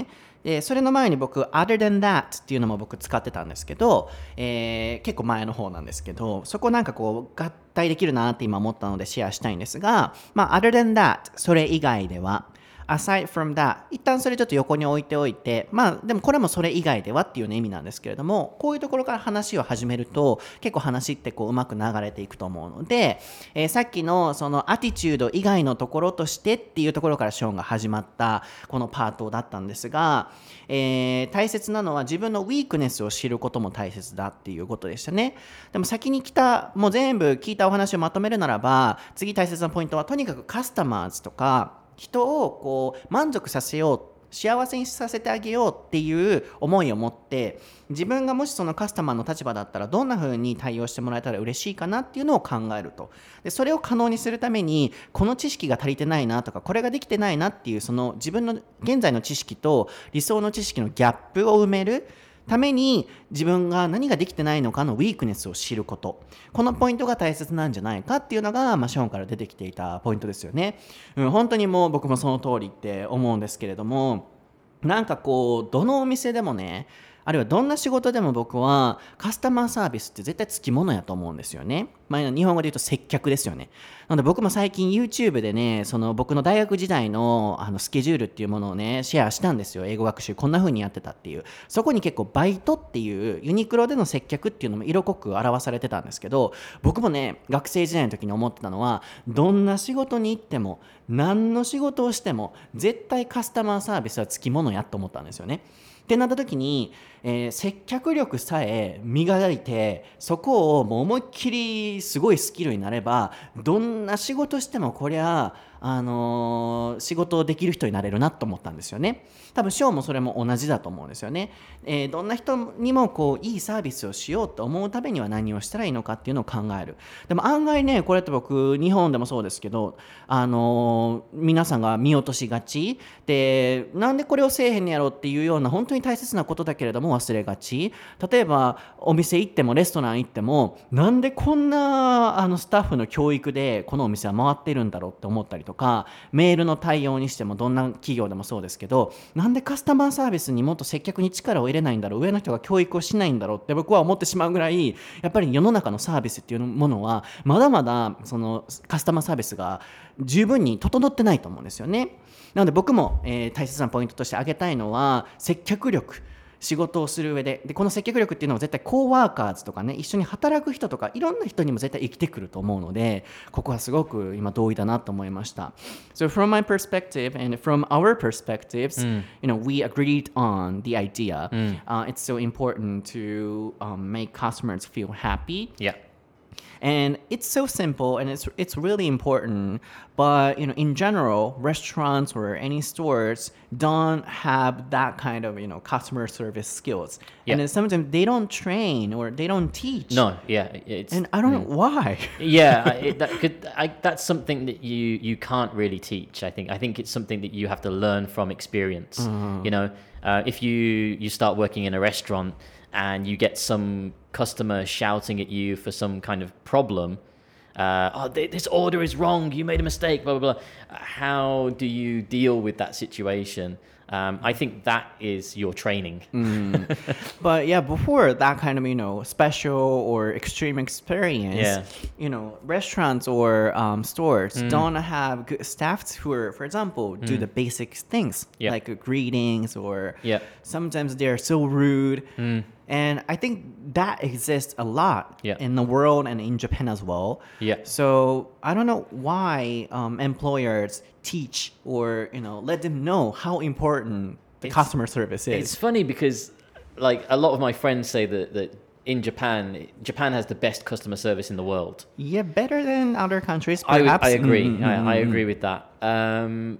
Speaker 1: でそれの前に僕 other than that っていうのも僕使ってたんですけど、えー、結構前の方なんですけど、そこなんかこう合体できるなって今思ったのでシェアしたいんですが、まあ other than that それ以外では、aside from that 一旦それちょっと横に置いておいて、まあでもこれもそれ以外ではっていう、ね、意味なんですけれども、こういうところから話を始めると結構話ってこううまく流れていくと思うので、えー、さっきのそのアティチュード以外のところとしてっていうところからショーンが始まったこのパートだったんですが、えー、大切なのは自分のウィークネスを知ることも大切だっていうことでしたね。でも先に来たもう全部聞いたお話をまとめるならば、次大切なポイントはとにかくカスタマーズとか人をこう満足させよう、幸せにさせてあげようっていう思いを持って、自分がもしそのカスタマーの立場だったらどんな風に対応してもらえたら嬉しいかなっていうのを考えると。でそれを可能にするためにこの知識が足りてないなとか、これができてないなっていうその自分の現在の知識と理想の知識のギャップを埋めるために、自分が何ができてないのかのウィークネスを知ること、このポイントが大切なんじゃないかっていうのが、まあ、ショーンから出てきていたポイントですよね、うん、本当にもう僕もその通りって思うんですけれども、なんかこうどのお店でもね、あるいはどんな仕事でも僕はカスタマーサービスって絶対つきものやと思うんですよね。まあ、日本語で言うと接客ですよね。なので僕も最近 YouTube でね、その僕の大学時代のあのスケジュールっていうものをねシェアしたんですよ。英語学習こんな風にやってたっていう。そこに結構バイトっていうユニクロでの接客っていうのも色濃く表されてたんですけど、僕もね学生時代の時に思ってたのは、どんな仕事に行っても何の仕事をしても絶対カスタマーサービスはつきものやと思ったんですよね。ってなった時に、えー、接客力さえ磨いて、そこをもう思いっきりすごいスキルになれば、どんな仕事してもこりゃあのー、仕事をできる人になれるなと思ったんですよね。多分ショーもそれも同じだと思うんですよね。えー、どんな人にもこういいサービスをしようと思うためには何をしたらいいのかっていうのを考える。でも案外ね、これって僕日本でもそうですけど、あのー、皆さんが見落としがちで、なんでこれをせえへんやろっていうような本当に大切なことだけれども忘れがち。例えばお店行ってもレストラン行っても、なんでこんなあのスタッフの教育でこのお店は回ってるんだろうって思ったりとか、メールの対応にしてもどんな企業でもそうですけど、なんでカスタマーサービスにもっと接客に力を入れないんだろう、上の人が教育をしないんだろうって僕は思ってしまうぐらい、やっぱり世の中のサービスっていうものはまだまだそのカスタマーサービスが十分に整ってないと思うんですよね。なので僕も、えー、大切なポイントとして挙げたいのは接客力。仕事をする上で、でこの接客力っていうのは絶対コーワーカーズとかね、一緒に働く人とかいろんな人にも絶対生きてくると思うので、ここはすごく今同意だなと思いました。So from my perspective and from our perspectives、mm. you know, we agreed on the idea. Mm. Uh, it's so important to um, make customers feel happy.
Speaker 2: Yeah.And
Speaker 1: it's so simple and it's it's really important, but you know, in general, restaurants or any stores don't have that kind of, you know, customer service skills. Yeah. And then sometimes they don't train or they don't teach.
Speaker 2: No, yeah, it's
Speaker 1: and I don't mm. know why.
Speaker 2: yeah, it, that could I, that's something that you you can't really teach. I think I think it's something that you have to learn from experience. Mm. You know, uh, if you you start working in a restaurant.And you get some customer shouting at you for some kind of problem. Uh, oh, th- this order is wrong. You made a mistake. Blah blah blah. How do you deal with that situation? Um, I think that is your training.
Speaker 1: mm. But yeah, before that kind of, you know, special or extreme experience, yeah. you know, restaurants or um, stores mm. don't have good staffs who are, for example, do mm. the basic things yeah. like uh, greetings or
Speaker 2: yeah.
Speaker 1: sometimes they're so rude.
Speaker 2: Mm.
Speaker 1: And I think that exists a lot
Speaker 2: yeah.
Speaker 1: in the world and in Japan as well.
Speaker 2: Yeah.
Speaker 1: So I don't know why um, employers teach or, you know, let them know how important the it's, customer service is.
Speaker 2: It's funny because like a lot of my friends say that, that in Japan, Japan has the best customer service in the world.
Speaker 1: Yeah, better than other countries,
Speaker 2: perhaps. I, I agree. Mm-hmm. I, I agree with that. Um,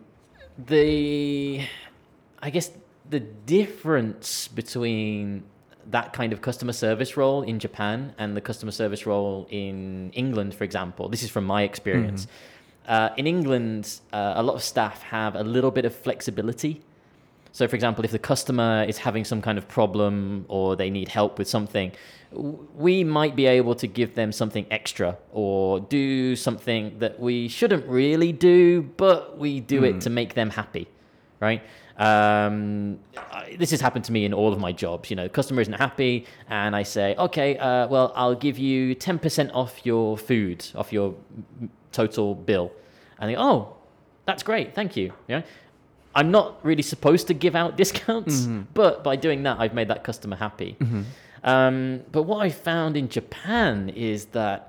Speaker 2: the, I guess the difference between that kind of customer service role in Japan and the customer service role in England, for example. This is from my experience. Mm-hmm. Uh, in England, uh, a lot of staff have a little bit of flexibility. So, for example, if the customer is having some kind of problem or they need help with something, we might be able to give them something extra or do something that we shouldn't really do, but we do mm. it to make them happy, right? Um, I, this has happened to me in all of my jobs. You know, customer isn't happy, and I say, okay, uh, well, I'll give you ten percent off your food, off your total bill. And they go, oh, that's great, thank you. You know, I'm not really supposed to give out discounts, mm-hmm. but by doing that, I've made that customer happy. Mm-hmm. Um, but what I found in Japan is that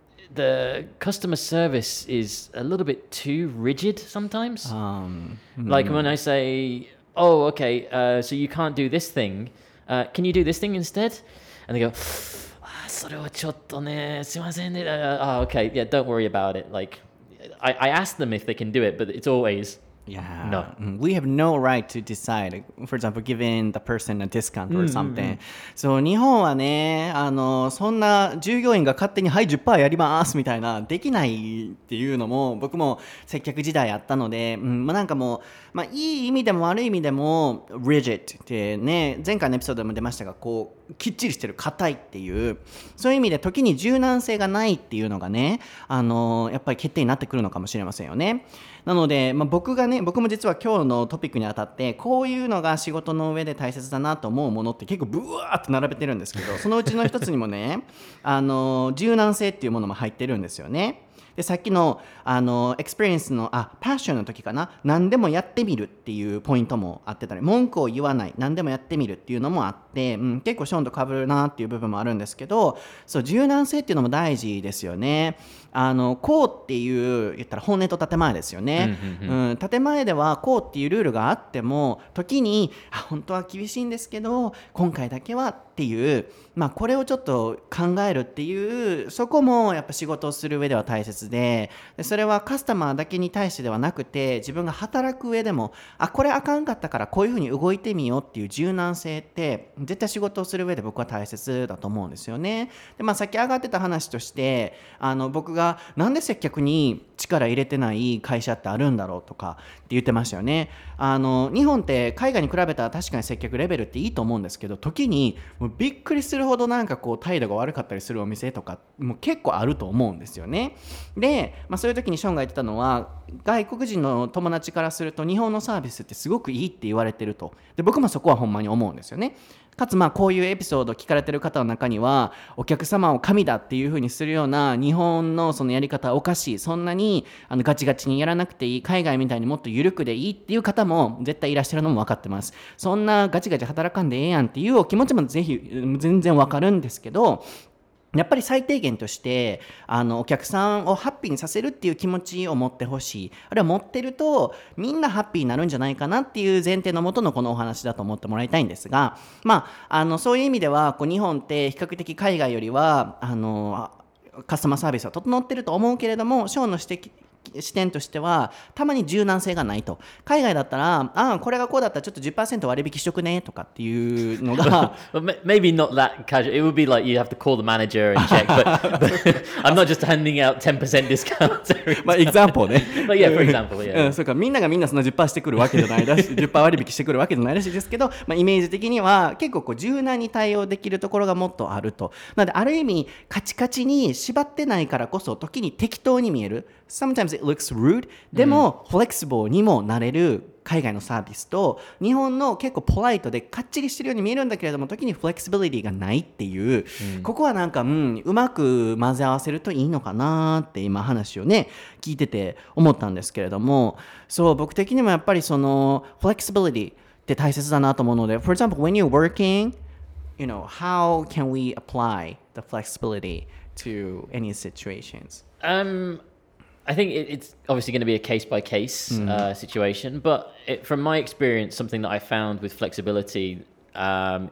Speaker 2: the customer service is a little bit too rigid sometimes. Um, like mm. when I say, oh, okay, uh, so you can't do this thing. Uh, can you do this thing instead? And they go, ah, それはちょっとね、すいませんね. Uh, oh, okay, yeah, don't worry about it. Like, I, I ask them if they can do it, but it's always,
Speaker 1: yeah.
Speaker 2: No.
Speaker 1: We have no right to decide, for example, giving the person a discount or something. そう、日本はね、あの、そんな従業員が勝手にはい じゅっパーセント やりますみたいな、できないっていうのも、僕も接客時代あったので、うん、まあ、なんかもう、まあ、いい意味でも悪い意味でも、rigid ってね、前回のエピソードでも出ましたが、こう、きっちりしてる、硬いっていう、そういう意味で時に柔軟性がないっていうのがね、あの、やっぱり欠点になってくるのかもしれませんよね。なので、まあ、僕がね、僕も実は今日のトピックにあたってこういうのが仕事の上で大切だなと思うものって結構ブワーって並べてるんですけど、そのうちの一つにもねあの柔軟性っていうものも入ってるんですよね。でさっきのあのエクスペリエンスのあパッションの時かな、何でもやってみるっていうポイントもあってたり、文句を言わない、何でもやってみるっていうのもあって、うん、結構ショーンと被るなっていう部分もあるんですけど、そう柔軟性っていうのも大事ですよね。あのこうっていう言ったら本音と建前ですよね、うんうんうん、建前ではこうっていうルールがあっても時にあ本当は厳しいんですけど今回だけはっていう、まあ、これをちょっと考えるっていうそこもやっぱ仕事をする上では大切で、でそれはカスタマーだけに対してではなくて自分が働く上でもあこれあかんかったからこういうふうに動いてみようっていう柔軟性って絶対仕事をする上で僕は大切だと思うんですよね。で、まあ、さっき上がってた話としてあの僕がなんで接客に力入れてない会社ってあるんだろうとかって言ってましたよね。あの日本って海外に比べたら確かに接客レベルっていいと思うんですけど、時にもうびっくりするほどなんかこう態度が悪かったりするお店とかも結構あると思うんですよね。で、まあ、そういう時にショーンが言ってたのは外国人の友達からすると日本のサービスってすごくいいって言われてると。で僕もそこはほんまに思うんですよね。かつまあこういうエピソードを聞かれてる方の中にはお客様を神だっていう風にするような日本のそのやり方はおかしい、そんなにあのガチガチにやらなくていい、海外みたいにもっと緩くでいいっていう方も絶対いらっしゃるのも分かってます。そんなガチガチ働かんでええやんっていうお気持ちもぜひ全然分かるんですけど、やっぱり最低限としてあのお客さんをハッピーにさせるっていう気持ちを持ってほしい、あるいは持ってるとみんなハッピーになるんじゃないかなっていう前提のもとのこのお話だと思ってもらいたいんですが、まあ、あのそういう意味ではこう日本って比較的海外よりはあのカスタマーサービスは整ってると思うけれども、ショーンの指摘視点としてはたまに柔軟性がないと。海外だったらあこれがこうだったらちょっと じゅっパーセント 割引しとくねとかっていうのが
Speaker 2: maybe not that casual. It would be like you have to call the manager and check, but, but I'm not just handing out ten percent discounts every time.
Speaker 1: まあ example ね
Speaker 2: but yeah, for example, yeah.
Speaker 1: うん、そうかみんながみんなその じゅっパーセント してくるわけじゃないらしいじゅっパーセント 割引してくるわけじゃないらしいですけど、まあ、イメージ的には結構こう柔軟に対応できるところがもっとあると。なのである意味カチカチに縛ってないからこそ時に適当に見える。Sometimes it looks rude. でも、うん、フレキシブルにもなれる海外のサービスと日本の結構ポライトでかっちりしてるように見えるんだけれども時にフレキシビリティがないっていう、うん、ここはなんか、うん、うまく混ぜ合わせるといいのかなって今話をね聞いてて思ったんですけれども、そう僕的にもやっぱりそのフレキシビリティって大切だなと思うので For example, when you're working, you know, how can we apply the flexibility to any situations?
Speaker 2: Um I think it, it's obviously going to be a case-by-case mm. uh, situation, but it, from my experience, something that I found with flexibility um,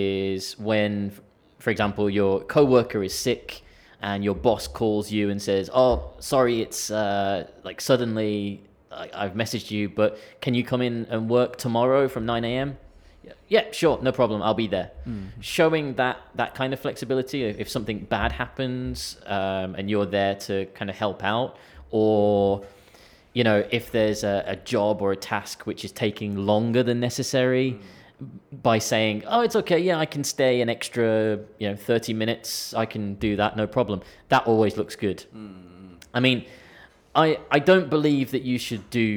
Speaker 2: is when, for example, your coworker is sick and your boss calls you and says, "Oh, sorry, it's uh, like suddenly I, I've messaged you, but can you come in and work tomorrow from nine a.m.?" Yeah, sure, no problem, I'll be there. Mm. Showing that that kind of flexibility, if something bad happens um, and you're there to kind of help out. Or, you know, if there's a, a job or a task which is taking longer than necessary, mm. by saying, oh, it's okay, yeah, I can stay an extra, you know, thirty minutes, I can do that, no problem. That always looks good. Mm. I mean, I, I don't believe that you should do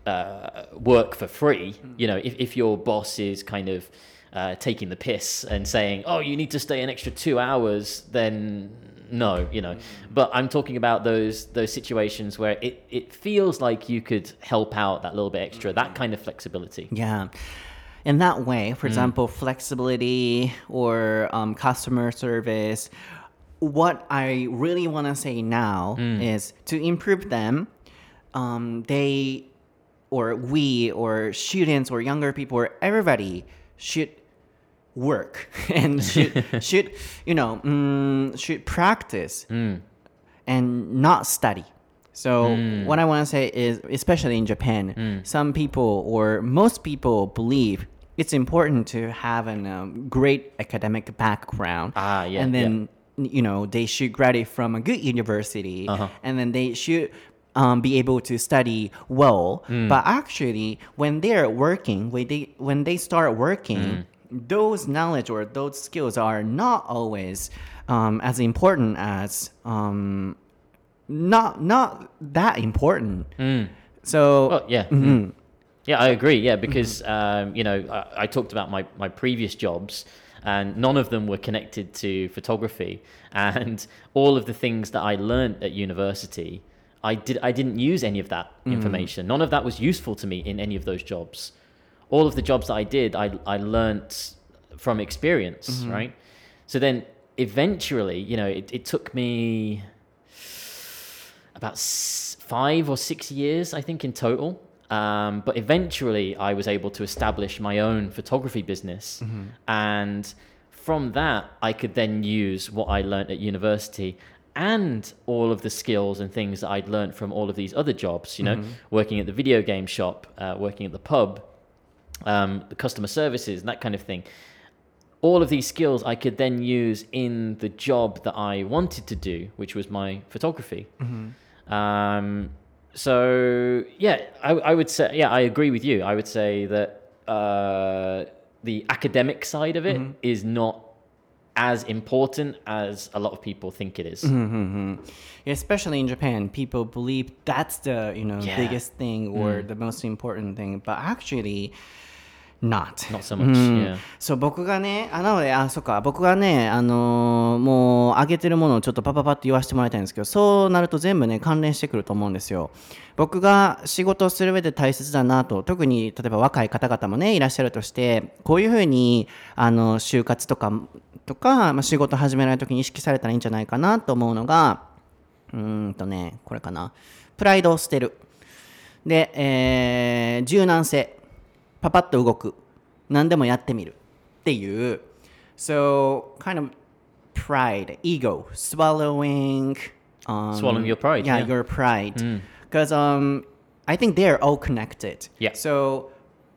Speaker 2: uh, work for free. You know, if, if your boss is kind of uh, taking the piss and saying, oh, you need to stay an extra two hours, then no, you know. But I'm talking about those those situations where it, it feels like you could help out that little bit extra, that kind of flexibility.
Speaker 1: Yeah. In that way, for example, flexibility or um, customer service, what I really want to say now is to improve them, um, they or we or students or younger people or everybody should work and should, should you know, mm, should practice and not study. So what I want to say is, especially in Japan, some people or most people believe it's important to have a um, great academic background.
Speaker 2: Ah, yeah,
Speaker 1: and then, you know, they should graduate from a good university.
Speaker 2: Uh-huh.
Speaker 1: And then they should um, be able to study well. But actually, when they're working, when they, when they start working, those knowledge or those skills are not always um, as important as... Um, Not not that important. So
Speaker 2: Well, yeah. Yeah, I agree. Yeah, because, um, you know, I, I talked about my, my previous jobs and none of them were connected to photography. And all of the things that I learned at university, I, did, I didn't use any of that information. None of that was useful to me in any of those jobs. All of the jobs that I did, I, I learnt from experience, right? So then eventually, you know, it, it took me... about s- five or six years, I think, in total. Um, but eventually, I was able to establish my own photography business. And from that, I could then use what I learned at university and all of the skills and things that I'd learned from all of these other jobs, you know, working at the video game shop, uh, working at the pub, um, the customer services, and that kind of thing. All of these skills I could then use in the job that I wanted to do, which was my photography. Um, so yeah, I, I would say, yeah, I agree with you. I would say that uh, the academic side of it is not as important as a lot of people think it is.
Speaker 1: especially in Japan, people believe that's the you know
Speaker 2: Yeah.
Speaker 1: biggest thing or the most important thing, but actually not.
Speaker 2: Not so much, yeah.
Speaker 1: そう僕がね、あなので、あ、そっか、僕がね、あのーもう上げてるものをちょっとパパパって言わせてもらいたいんですけど、そうなると全部ね、関連してくると思うんですよ。僕が仕事をする上で大切だなと、特に例えば若い方々もね、いらっしゃるとして、こういうふうに、あの、就活とか、とか、まあ、仕事始められるときに意識されたらいいんじゃないかなと思うのが、うーんとね、これかな。プライドを捨てる。で、えー、柔軟性。パパッと動く。何でもやってみる。っていう。So, kind of pride, ego, swallowing... Um,
Speaker 2: Swallowing your pride,
Speaker 1: Yeah,
Speaker 2: yeah.
Speaker 1: your pride. Because um, I think they're all connected.
Speaker 2: Yeah.
Speaker 1: So,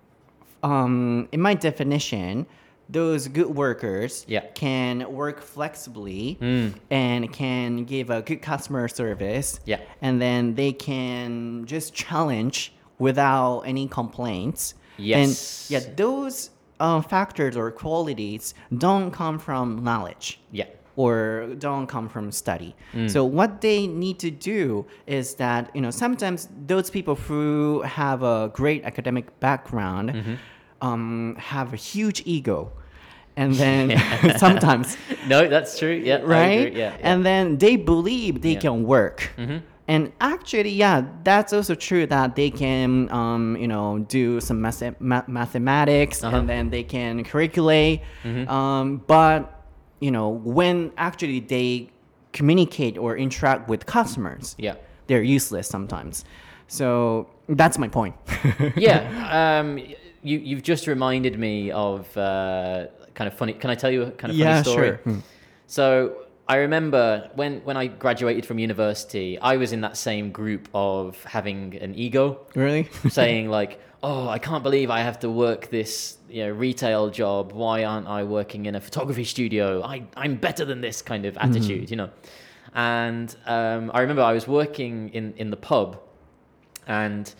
Speaker 1: um, in my definition, those good workers
Speaker 2: Yeah.
Speaker 1: can work flexibly and can give a good customer service.
Speaker 2: Yeah.
Speaker 1: And then they can just challenge without any complaints.
Speaker 2: Yes.
Speaker 1: And yeah, those uh, factors or qualities don't come from knowledge.
Speaker 2: Yeah.
Speaker 1: Or don't come from study. So what they need to do is that, you know, sometimes those people who have a great academic background um, have a huge ego. And then sometimes,
Speaker 2: No, that's true. Yeah, I
Speaker 1: right?
Speaker 2: agree. Yeah, yeah.
Speaker 1: And then they believe they
Speaker 2: Yeah.
Speaker 1: can work. And actually, yeah, that's also true that they can, um, you know, do some math- ma- mathematics
Speaker 2: Uh-huh.
Speaker 1: and then they can calculate. Um, but, you know, when actually they communicate or interact with customers,
Speaker 2: Yeah.
Speaker 1: they're useless sometimes. So that's my point.
Speaker 2: Yeah. Um, you, you've just reminded me of uh, kind of funny. Can I tell you a kind of funny
Speaker 1: Yeah,
Speaker 2: story?
Speaker 1: sure. Hmm.
Speaker 2: So I remember when, when I graduated from university, I was in that same group of having an ego,
Speaker 1: Really?
Speaker 2: saying like, oh, I can't believe I have to work this, you know, retail job. Why aren't I working in a photography studio? I, I'm better than this kind of attitude, you know. And um, I remember I was working in, in the pub, and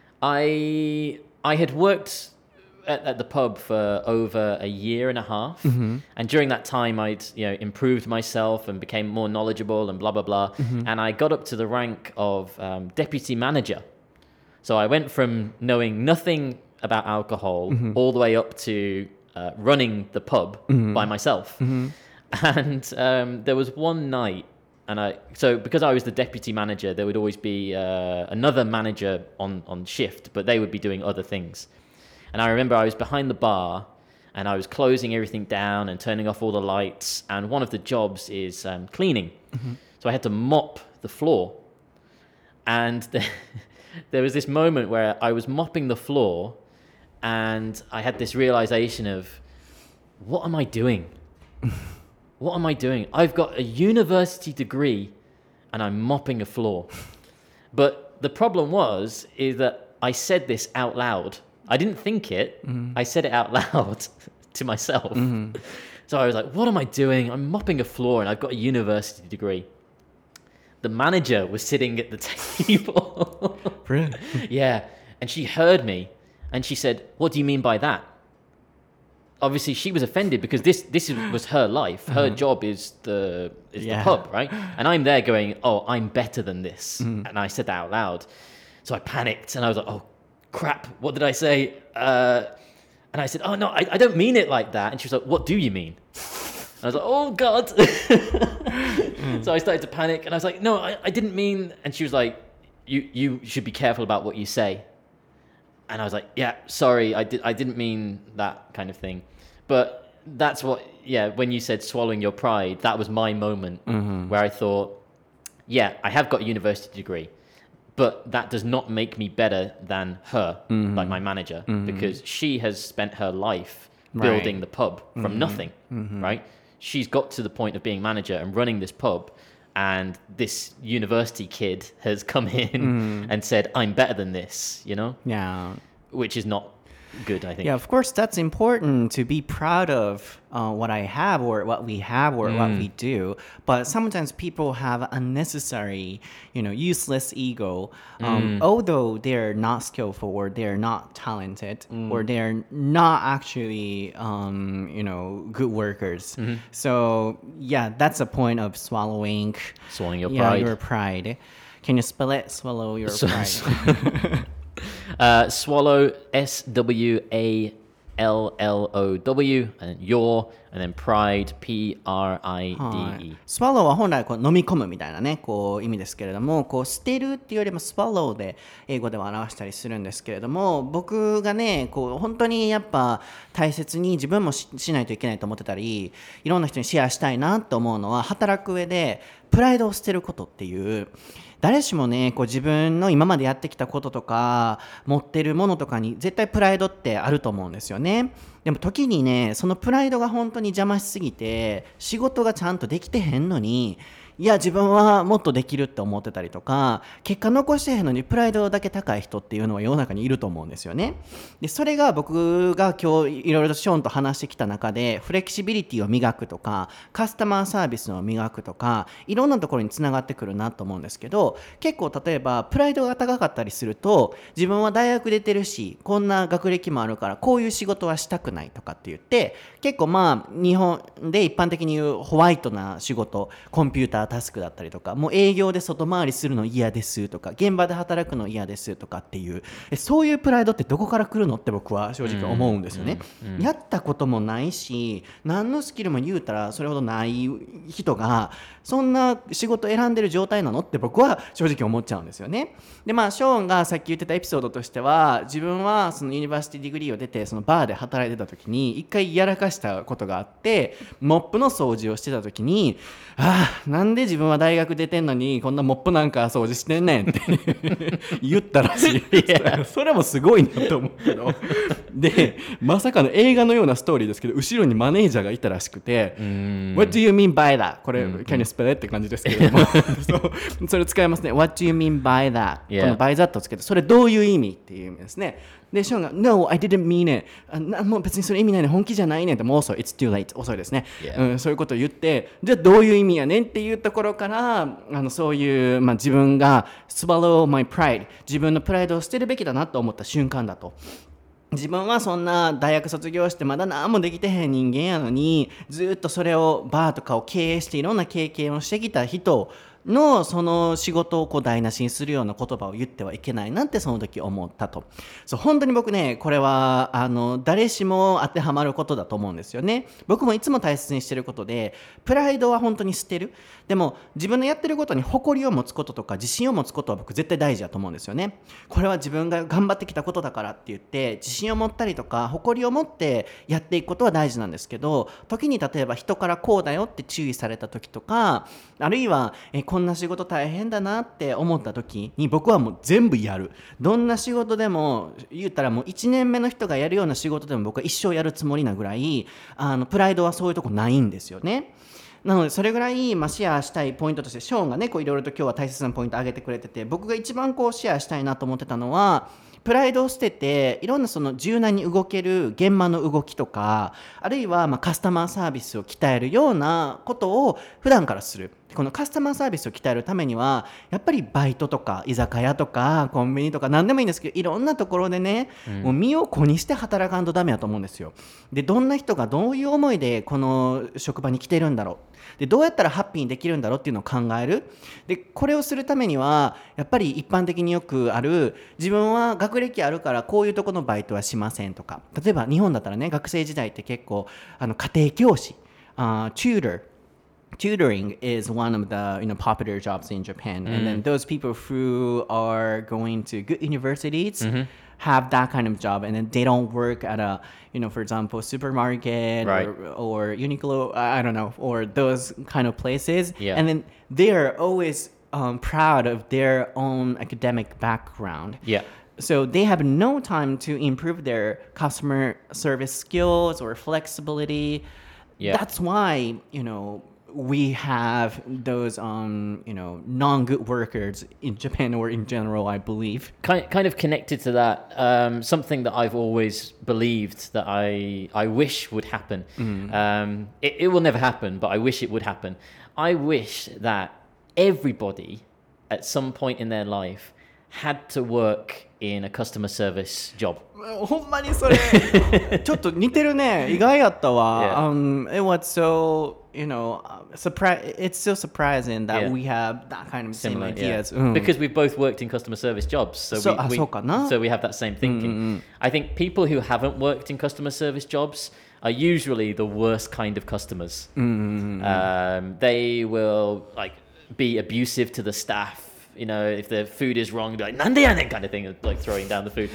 Speaker 2: I I had worked at, at the pub for over a year and a half, and during that time I'd you know improved myself and became more knowledgeable and blah blah blah, and I got up to the rank of um, deputy manager. So I went from knowing nothing about alcohol
Speaker 1: Mm-hmm.
Speaker 2: all the way up to uh, running the pub
Speaker 1: Mm-hmm.
Speaker 2: by myself.
Speaker 1: Mm-hmm.
Speaker 2: And um, there was one night, and I so because I was the deputy manager, there would always be uh, another manager on, on shift, but they would be doing other things. And I remember I was behind the bar, and I was closing everything down and turning off all the lights. And one of the jobs is um, cleaning. Mm-hmm. So I had to mop the floor. And the, there was this moment where I was mopping the floor, and I had this realization of, what am I doing? What am I doing? I've got a university degree, and I'm mopping a floor. But the problem was, is that I said this out loud. I didn't think it. Mm-hmm. I said it out loud to myself. Mm-hmm. So I was like, what am I doing? I'm mopping a floor, and I've got a university degree. The manager was sitting at the table.
Speaker 1: Really?
Speaker 2: Yeah. And she heard me, and she said, what do you mean by that? Obviously, she was offended because this this was her life. Her mm-hmm. job is the is yeah. the pub, right? And I'm there going, oh, I'm better than this. Mm-hmm. And I said that out loud. So I panicked, and I was like, oh, crap, what did I say? Uh, and I said, oh, no, I, I don't mean it like that. And she was like, what do you mean? And I was like, oh, God. mm. So I started to panic, and I was like, no, I, I didn't mean... And she was like, you you should be careful about what you say. And I was like, yeah, sorry, I, did, I didn't mean that kind of thing. But that's what, yeah, when you said swallowing your pride, that was my moment mm-hmm. where I thought, yeah, I have got a university degree, but that does not make me better than her, mm-hmm. like my manager, mm-hmm. because she has spent her life building right. the pub from mm-hmm. nothing, mm-hmm. right? She's got to the point of being manager and running this pub, and this university kid has come in mm. and said, I'm better than this, you know?
Speaker 1: Yeah.
Speaker 2: Which is not good, I think.
Speaker 1: Yeah, of course, that's important to be proud of uh, what I have or what we have or mm. what we do. But sometimes people have unnecessary, you know, useless ego. Um, mm. Although they're not skillful or they're not talented mm. or they're not actually, um, you know, good workers. Mm-hmm. So, yeah, that's a point of swallowing.
Speaker 2: Swallowing your
Speaker 1: yeah,
Speaker 2: pride.
Speaker 1: your pride. Can you spell it? Swallow your pride.
Speaker 2: Uh, swallow, S W A L L O W, and your, and then pride, P R I D E。
Speaker 1: swallow は本来こう飲み込むみたいなね、こう意味ですけれども、こう捨てるっていうよりも swallow で英語では表したりするんですけれども、僕がね、こう本当にやっぱ大切に自分も し, しないといけないと思ってたり、いろんな人にシェアしたいなと思うのは、働く上でプライドを捨てることっていう。誰しもね、こう自分の今までやってきたこととか持ってるものとかに絶対プライドってあると思うんですよね。でも時にね、そのプライドが本当に邪魔しすぎて仕事がちゃんとできてへんのに、いや自分はもっとできるって思ってたりとか、結果残してへんのにプライドだけ高い人っていうのは世の中にいると思うんですよね。でそれが僕が今日いろいろとショーンと話してきた中で、フレキシビリティを磨くとかカスタマーサービスを磨くとか、いろんなところにつながってくるなと思うんですけど、結構例えばプライドが高かったりすると、自分は大学出てるしこんな学歴もあるからこういう仕事はしたくないとかって言って、結構まあ日本で一般的に言うホワイトな仕事、コンピュータータスクだったりとか、もう営業で外回りするの嫌ですとか、現場で働くの嫌ですとかっていう、そういうプライドってどこから来るのって僕は正直思うんですよね、うんうんうん、やったこともないし何のスキルも言うたらそれほどない人がそんな仕事選んでる状態なのって僕は正直思っちゃうんですよね。でまあショーンがさっき言ってたエピソードとしては、自分はそのユニバーシティディグリーを出てそのバーで働いてた時に一回やらかしたことがあって、モップの掃除をしてた時に、ああなんで自分は大学出てんのにこんなモップなんか掃除してんねんって言ったらしい。yeah. それもすごいなと思うけどでまさかの映画のようなストーリーですけど、後ろにマネージャーがいたらしくて、What do you mean by that? これ Can you spell it? って感じですけれどもそうそれ使いますね。 What do you mean by that? この by that をつけて、それどういう意味っていう意味ですね。でショーンが No, I didn't mean it. あなもう別にそれ意味ないね、本気じゃないねんって、もう遅い It's too late. 遅いですね、yeah. うん、そういうことを言って、じゃあどういう意味やねんっていうところから、あのそういう、まあ、自分が swallow my pride、 自分のプライドを捨てるべきだなと思った瞬間だと。自分はそんな大学卒業してまだ何もできてへん人間やのに、ずっとそれをバーとかを経営していろんな経験をしてきた人のその仕事をこう台無しにするような言葉を言ってはいけないなってその時思ったと。そう本当に僕ねこれはあの誰しも当てはまることだと思うんですよね。僕もいつも大切にしてることで、プライドは本当に捨てる。でも自分のやってることに誇りを持つこととか自信を持つことは僕絶対大事だと思うんですよね。これは自分が頑張ってきたことだからって言って自信を持ったりとか誇りを持ってやっていくことは大事なんですけど、時に例えば人からこうだよって注意された時とか、あるいはえこんな仕事大変だなって思った時に僕はもう全部やる。どんな仕事でも言ったらもういちねんめの人がやるような仕事でも僕は一生やるつもりなぐらい、あのプライドはそういうとこないんですよね。なのでそれぐらい、まあ、シェアしたいポイントとしてショーンがねこういろいろと今日は大切なポイント挙げてくれてて、僕が一番こうシェアしたいなと思ってたのは、プライドを捨てていろんなその柔軟に動ける現場の動きとか、あるいはまあカスタマーサービスを鍛えるようなことを普段からする。このカスタマーサービスを鍛えるためにはやっぱりバイトとか居酒屋とかコンビニとか何でもいいんですけど、いろんなところでね、うん、もう身を粉にして働かんとダメだと思うんですよ。でどんな人がどういう思いでこの職場に来てるんだろう、でどうやったらハッピーにできるんだろうっていうのを考える。でこれをするためにはやっぱり一般的によくある、自分は学歴あるからこういうところのバイトはしませんとか、例えば日本だったらね学生時代って結構あの家庭教師、uh, tutor tutoring is one of the you know popular jobs in Japan, mm. and then those people who are going to good universities mm-hmm. have that kind of job, and then they don't work at a you know for example supermarket
Speaker 2: right.
Speaker 1: or, or Uniqlo, I don't know, or those kind of places,
Speaker 2: yeah.
Speaker 1: and then they are always um, proud of their own academic background.
Speaker 2: Yeah.
Speaker 1: So they have no time to improve their customer service skills or flexibility.
Speaker 2: Yeah.
Speaker 1: That's why you know we have those um you know non-good workers in Japan, or in general, I believe.
Speaker 2: Kind kind of connected to that, um, something that I've always believed that I I wish would happen. Mm. Um, it, it will never happen, but I wish it would happen. I wish that everybody at some point in their life had to work in a customer service job.
Speaker 1: ほんまにそれちょっと似てるね。意外やったわ。Yeah. Um, it was so you know surprise. It's so surprising that yeah. we have that kind of same
Speaker 2: Similar,
Speaker 1: ideas.
Speaker 2: Yeah. Mm. Because we've both worked in customer service jobs, so
Speaker 1: so,
Speaker 2: we, we so we have that same thinking. Mm-hmm. I think people who haven't worked in customer service jobs are usually the worst kind of customers.
Speaker 1: Mm-hmm.
Speaker 2: Um, they will like be abusive to the staff. You know, if the food is wrong, be like, "Nande yanen," kind of thing, like throwing down the food.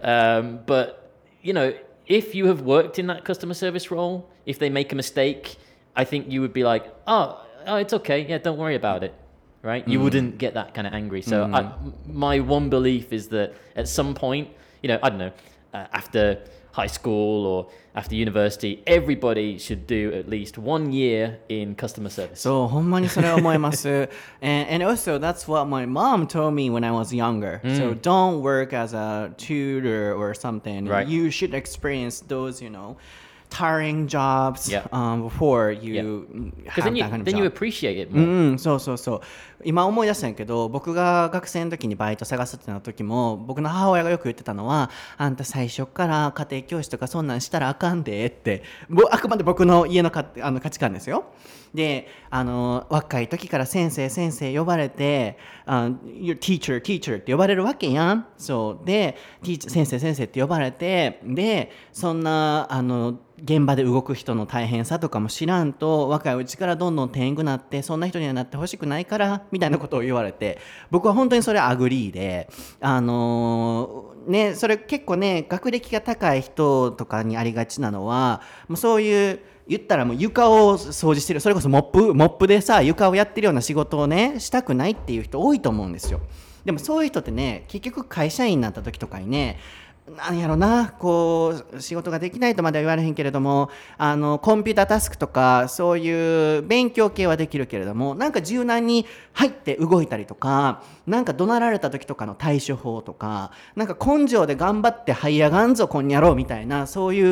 Speaker 2: Um, but, you know, if you have worked in that customer service role, if they make a mistake, I think you would be like, oh, oh it's okay. Yeah, don't worry about it. Right? Mm. You wouldn't get that kind of angry. So mm. I, my one belief is that at some point, you know, I don't know, uh, after high school or after university, everybody should do at least one year in customer service.
Speaker 1: そう、ほんまにそれは思います。and, and also, that's what my mom told me when I was younger. Mm. So don't work as a tutor or something.
Speaker 2: Right.
Speaker 1: You should experience those, you know, tiring jobs
Speaker 2: yeah.
Speaker 1: um, before you
Speaker 2: yeah. have
Speaker 1: then
Speaker 2: you,
Speaker 1: that kind of
Speaker 2: then
Speaker 1: job.
Speaker 2: you appreciate it more.
Speaker 1: うん、そうそうそう。今思い出したんやけど、僕が学生の時にバイト探すってなった時も、僕の母親がよく言ってたのは、あんた最初から家庭教師とかそんなんしたらあかんでって、あくまで僕の家のかあの価値観ですよ。で、あの若い時から先生先生呼ばれて、uh, your teacher teacher って呼ばれるわけやん。そうで、先生先生って呼ばれて、で、そんなあの現場で動く人の大変さとかも知らんと、若いうちからどんどん天狗なってそんな人にはなってほしくないからみたいなことを言われて、僕は本当にそれアグリーで、あのー、ね、それ結構ね、学歴が高い人とかにありがちなのは、もうそういう言ったらもう床を掃除してる、それこそモップモップでさ床をやってるような仕事をねしたくないっていう人多いと思うんですよ。でもそういう人ってね、結局会社員になった時とかにね、なんやろな、こう仕事ができないとまでは言われへんけれども、あのコンピュータータスクとかそういう勉強系はできるけれども、なんか柔軟に入って動いたりとか、なんか怒鳴られた時とかの対処法とか、なんか根性で頑張って這い上がんぞこんにゃろうみたいな、そういう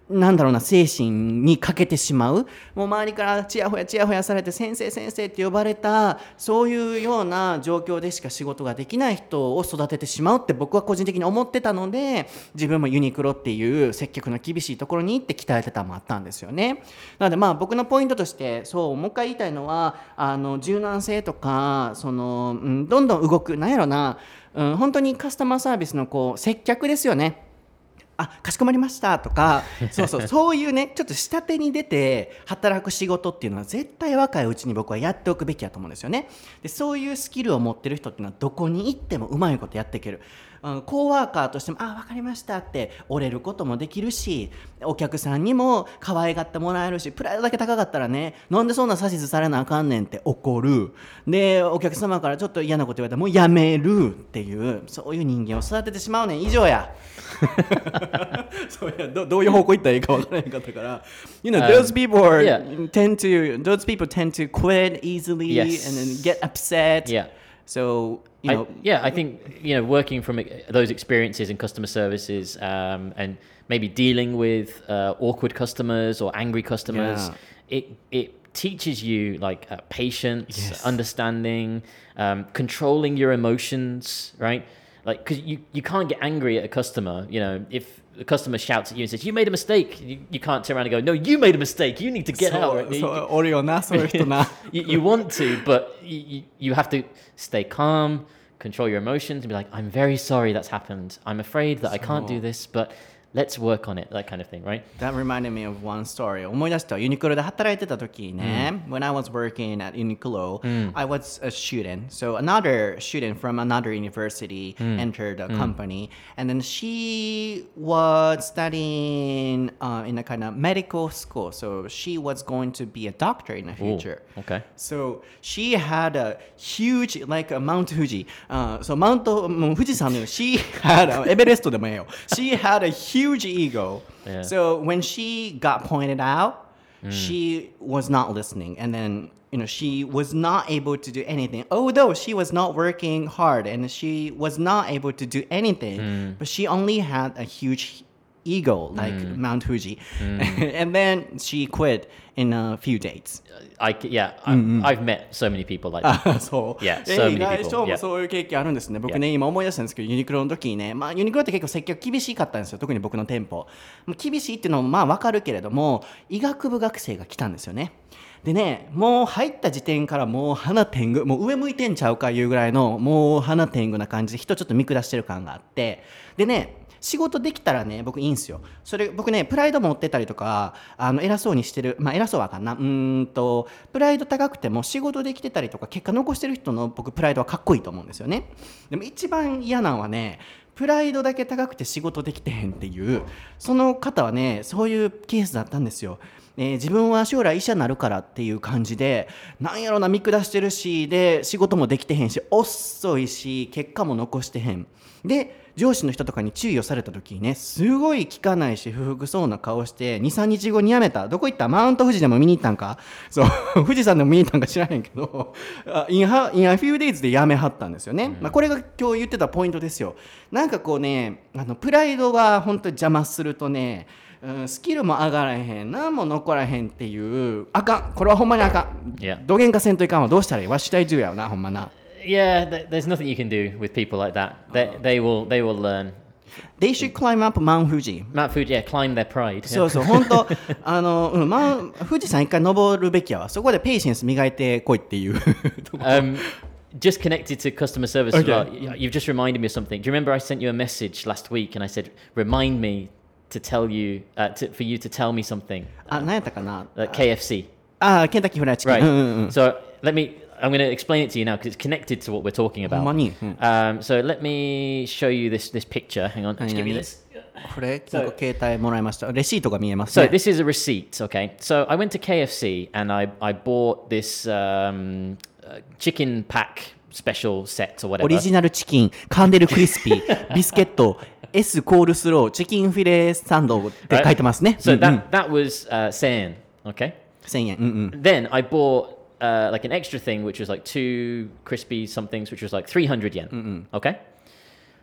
Speaker 1: なんだろうな精神に欠けてしまう、もう周りからちやほやちやほやされて先生先生って呼ばれたそういうような状況でしか仕事ができない人を育ててしまうって僕は個人的に思ってたので、自分もユニクロっていう接客の厳しいところに行って鍛えてたのもあったんですよね。なのでまあ僕のポイントとしてそうもう一回言いたいのは、あの柔軟性とかその、うん、どんどん動くなんやろな、うん、本当にカスタマーサービスのこう接客ですよね。あ、かしこまりましたとか、そうそう、そういうね、ちょっと下手に出て働く仕事っていうのは絶対若いうちに僕はやっておくべきだと思うんですよね。で、そういうスキルを持ってる人っていうのはどこに行ってもうまいことやっていける。うん、コーワーカーとしても、あ、わかりましたって折れることもできるし、お客さんにも可愛がってもらえるし、プライドだけ高かったらね、なんでそんな指図されなあかんねんって怒る。で、お客様からちょっと嫌なこと言われたらもうやめるっていう、そういう人間を育ててしまうねん以上や。そうや、どどういう方向行ったらいいか分からへんかったから。You know, those people are,
Speaker 2: yeah.
Speaker 1: tend to, those people tend to quit easily
Speaker 2: Yes.
Speaker 1: and then get upset.
Speaker 2: Yeah.
Speaker 1: So, you know.
Speaker 2: I, yeah, I think, you know, working from those experiences in customer services um, and maybe dealing with uh, awkward customers or angry customers,
Speaker 1: Yeah.
Speaker 2: it it teaches you like uh, patience,
Speaker 1: Yes.
Speaker 2: understanding, um, controlling your emotions, right? Like, because you, you can't get angry at a customer, you know, if the customer shouts at you and says, you made a mistake, you, you can't turn around and go, no, you made a mistake, you need to get out.
Speaker 1: そうそうおるよな、そういう人な。
Speaker 2: you, you want to, but you, you have to stay calm, control your emotions, and be like, I'm very sorry that's happened. I'm afraid that I can't do this, but let's work on it, that kind of thing, right?
Speaker 1: That reminded me of one story. 思い出した。ユニクロで働いてた時ね、when I was working at Uniqlo, I was a student. So another student from another university entered the company, and then she was studying uh, in a kind of medical school. So she was going to be a doctor in the future.
Speaker 2: Ooh, okay.
Speaker 1: So she had a huge, like a Mount Fuji. Uh, so Mount もう富士山の she had a, エベレストでもええよ。She had a huge ego.
Speaker 2: Yeah.
Speaker 1: So when she got pointed out, mm. she was not listening, and then you know she was not able to do anything. Although she was not working hard and she was not able to do anything, mm. but she only had a huge ego like mm. Mount Fuji, mm. and then she quit in a few days.
Speaker 2: I, yeah, mm-hmm. I've met so many people like that.
Speaker 1: そう。
Speaker 2: Yeah, so many people.
Speaker 1: 意外ともそういう経験あるんですね。僕ね、今思い出したんですけど、ユニクロの時にね、まあユニクロって結構接客厳しかったんですよ。特に僕の店舗。厳しいっていうのもまあわかるけれども、医学部学生が来たんですよね。でね、もう入った時点からもう鼻天狗、もう上向いてんちゃうかいうぐらいのもう鼻天狗な感じで人ちょっと見下してる感があって、でね、仕事できたらね僕いいんすよ。それ僕ねプライド持ってたりとかあの偉そうにしてる、まあ偉そうはあかんな、うーんとプライド高くても仕事できてたりとか結果残してる人の僕プライドはかっこいいと思うんですよね。でも一番嫌なのはね、プライドだけ高くて仕事できてへんっていうその方はね、そういうケースだったんですよ。えー、自分は将来医者になるからっていう感じでなんやろな見下してるし、で仕事もできてへんし遅いし結果も残してへんで、上司の人とかに注意をされた時にね、すごい聞かないし不服そうな顔して にさんにちごに辞めた。どこ行った？マウント富士でも見に行ったんか、そう富士山でも見に行ったんか知らへんけどインハインアフューデイズで辞めはったんですよね、うん。まあ、これが今日言ってたポイントですよ。なんかこうね、あのプライドが本当に邪魔するとね、うん、スキルも上がらへん、何も残らへんっていうあかん、これはほんまにあかん、
Speaker 2: yeah.
Speaker 1: どげんかせんといかんわ。どうしたらいいわし体重やよなほんまな。
Speaker 2: Yeah, th- there's nothing you can do with people like that. They, they will, they will learn.
Speaker 1: They should climb up Mount Fuji.
Speaker 2: Mount Fuji, yeah, climb their pride.
Speaker 1: そうそう、本当あの、うん、マウン富士山一回登るべきやわ。そこでペイシェンス磨いてこいっていう。
Speaker 2: um, just connected to customer service
Speaker 1: okay.
Speaker 2: as well. You've just reminded me of something. Do you remember I sent you a message last week and I said, remind me to tell you, uh, to, for you to tell me something?
Speaker 1: あ、何やったかな?
Speaker 2: Uh, K F C.
Speaker 1: あ、ケンタッキーフライチキン。
Speaker 2: Right.
Speaker 1: うんうんうん。
Speaker 2: So let me.I'm going to explain it to you now because it's connected to what we're talking about. Um, so let me show you this this picture. Hang on, just give me this.
Speaker 1: これ、so, 携帯もらいました。レシートが見えますね。
Speaker 2: So this is a receipt, okay? So I went to K F C and I I bought this um, uh, chicken pack special set or whatever.
Speaker 1: オリジナルチキン、カンデルクリスピー、ビスケット、S コールスロー、チキンフィレサンドって書いてますね。
Speaker 2: So that that was uh, せんえん, okay?
Speaker 1: せんえん。うんうん。
Speaker 2: Then I bought.Uh, like an extra thing, which was like two crispy somethings, which was like three hundred yen. Mm-mm. Okay.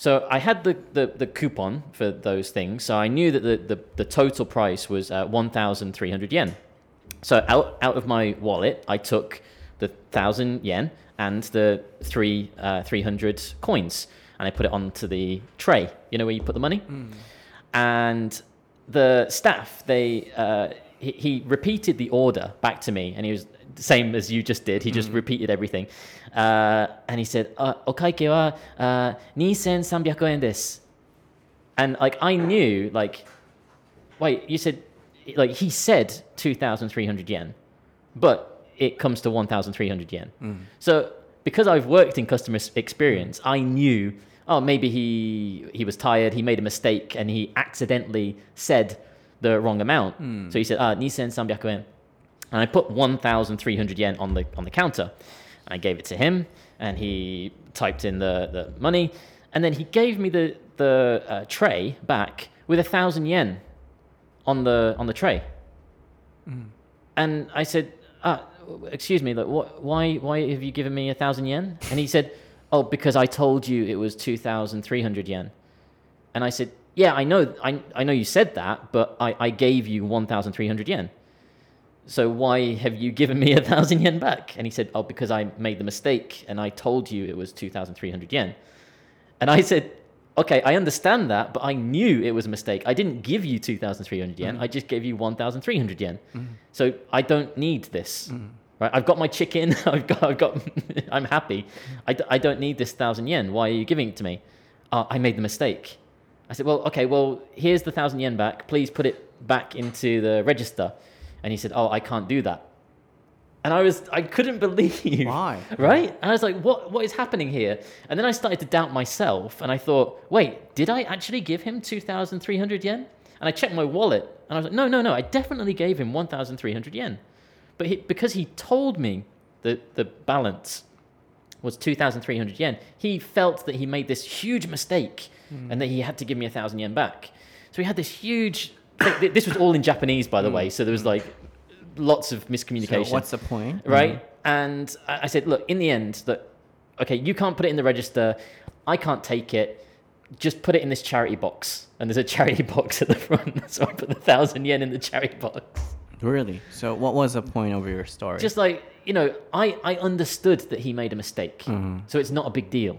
Speaker 2: So I had the, the, the coupon for those things, so I knew that the, the, the total price was uh, one thousand three hundred yen. So out, out of my wallet, I took the one thousand yen and the three, uh, three hundred coins, and I put it onto the tray, you know, where you put the money? Mm. And the staff, they uh, he, he repeated the order back to me, and he was the same as you just did. He just mm. repeated everything. Uh, and he said, uh, お会計は、uh, にせんさんびゃくえんです. And like, I knew, like, wait, you said, like, he said two thousand three hundred yen, but it comes to one thousand three hundred yen. Mm. So because I've worked in customer experience, I knew, oh, maybe he he was tired, he made a mistake, and he accidentally said the wrong amount. Mm. So he said, ah, にせんさんびゃくえん. And I put one thousand three hundred yen on the on the counter. And I gave it to him, and he typed in the, the money, and then he gave me the the uh, tray back with a thousand yen on the on the tray. Mm. And I said, ah, excuse me, like, what, why why have you given me a thousand yen? And he said, oh, because I told you it was two thousand three hundred yen. And I said, yeah, I know, I I know you said that, but I, I gave you one thousand three hundred yen. So why have you given me a thousand yen back? And he said, oh, because I made the mistake and I told you it was two thousand three hundred yen. And I said, okay, I understand that, but I knew it was a mistake. I didn't give you two thousand three hundred yen. Mm. I just gave you one thousand three hundred yen. Mm. So I don't need this. Mm. Right? I've got my chicken. I've got, I've got, I'm happy. I, d- I don't need this thousand yen. Why are you giving it to me? Uh, I made the mistake. I said, well, okay, well, here's the thousand yen back. Please put it back into the register. And he said, oh, I can't do that. And I was, I couldn't believe.
Speaker 1: Why?
Speaker 2: Right? And I was like, what, what is happening here? And then I started to doubt myself. And I thought, wait, did I actually give him two thousand three hundred yen? And I checked my wallet. And I was like, no, no, no, I definitely gave him one thousand three hundred yen. But he, because he told me that the balance was two thousand three hundred yen, he felt that he made this huge mistake mm. and that he had to give me a thousand yen back. So he had this huge... This was all in Japanese, by the mm. way, so there was like lots of miscommunication.
Speaker 1: So what's the point?
Speaker 2: Right? Mm. And I said, look, in the end, that okay, you can't put it in the register. I can't take it. Just put it in this charity box. And there's a charity box at the front. So I put the thousand yen in the charity box.
Speaker 1: Really? So what was the point of your story?
Speaker 2: Just like, you know, I, I understood that he made a mistake. Mm. So it's not a big deal.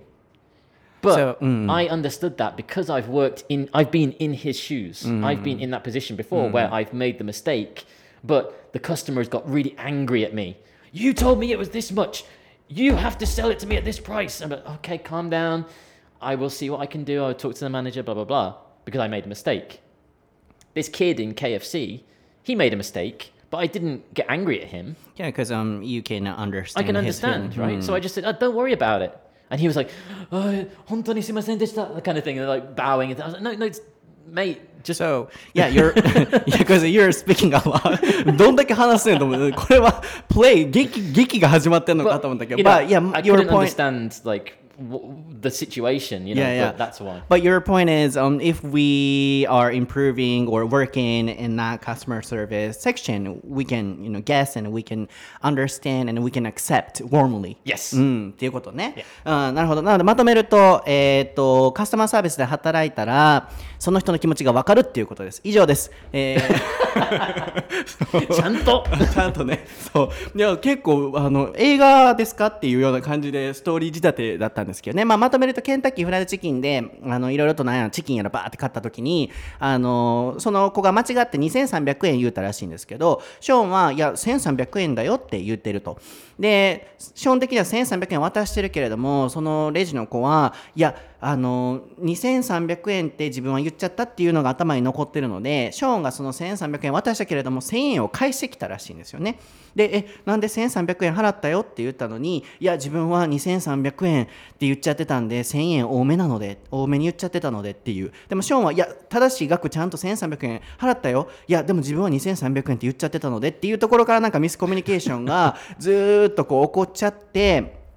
Speaker 2: But so, mm. I understood that because I've worked in, I've been in his shoes. Mm. I've been in that position before mm. where I've made the mistake, but the customers got really angry at me. You told me it was this much. You have to sell it to me at this price. I'm like, okay, calm down. I will see what I can do. I'll talk to the manager, blah, blah, blah, because I made a mistake. This kid in K F C, he made a mistake, but I didn't get angry at him.
Speaker 1: Yeah, because um, you can understand.
Speaker 2: I can understand, right? Mm. So I just said, oh, don't worry about it. And he was like, oh, 本当にすいませんでした, that kind of thing, and like bowing. And I was like, no, no, it's, mate, just...
Speaker 1: So, yeah, you're, yeah, because you're speaking a lot. どんだけ話せんと思う。これは、play, 劇、劇が始まってんのかと思ったけど。
Speaker 2: But, yeah, I your couldn't point... understand, like, w- the situation, you know, yeah, yeah. But that's why.
Speaker 1: But your point is, um, if we are improving or working in that customer service section, we can, you know, guess and we can understand and we can accept warmly.
Speaker 2: Yes.
Speaker 1: うん、っていうことね。Yeah. うん、なるほど。なのでまとめると、えっと、カスタマーサービスで働いたら、その人の気持ちが分かるっていうことです。以上です。え
Speaker 2: ー、ちゃんと
Speaker 1: ちゃんとね。そう。いや、結構、あの、映画ですかっていうような感じでストーリー仕立てだったんですけどね。まあ、まとめるとケンタッキーフライドチキンで、あの、いろいろとなんやチキンやらバーって買った時に、あの、その子が間違ってにせんさんびゃくえん言うたらしいんですけど、ショーンは、いや、せんさんびゃくえんだよって言ってると。で、基本的にはせんさんびゃくえん渡してるけれども、そのレジの子は、いや、あの、にせんさんびゃくえんって自分は言っちゃったっていうのが頭に残ってるので、ショーンがそのせんさんびゃくえん渡したけれども、せんえんを返してきたらしいんですよね。で、え、なんでせんさんびゃくえん払ったよって言ったのに、いや、自分はにせんさんびゃくえんって言っちゃってたんで、せんえん多めなので、多めに言っちゃってたのでっていう。でもショーンは、いや、正しい額ちゃんとせんさんびゃくえん払ったよ。いや、でも自分はにせんさんびゃくえんって言っちゃってたのでっていうところからなんかミスコミュニケーションがずーっとこう起こっちゃって、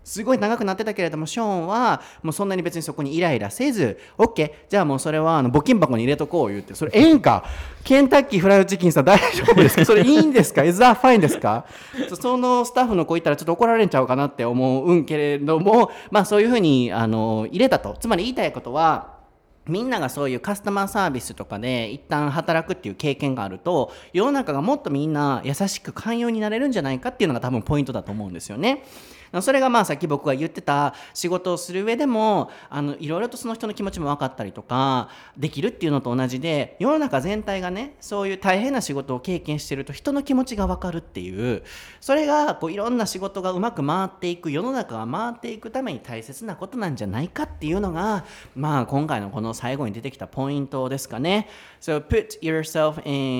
Speaker 1: すごい長くなってたけれども、ショーンはもうそんなに別にそこにイライラせず、 OK、 じゃあもうそれはあの募金箱に入れとこう言って、それええんか、ケンタッキーフライドチキンさん大丈夫ですか、それいいんですか、Is that fine ですか。そのスタッフの子いたらちょっと怒られんちゃうかなって思うんけれども、まあそういうふうにあの入れたと。つまり言いたいことは、みんながそういうカスタマーサービスとかで一旦働くっていう経験があると、世の中がもっとみんな優しく寛容になれるんじゃないかっていうのが多分ポイントだと思うんですよね。それがまあさっき僕が言ってた仕事をする上でも、あのいろいろとその人の気持ちも分かったりとかできるっていうのと同じで、世の中全体がね、そういう大変な仕事を経験してると人の気持ちが分かるっていう、それがこういろんな仕事がうまく回っていく、世の中が回っていくために大切なことなんじゃないかっていうのが、まあ今回のこの最後に出てきたポイントですかね。 So put yourself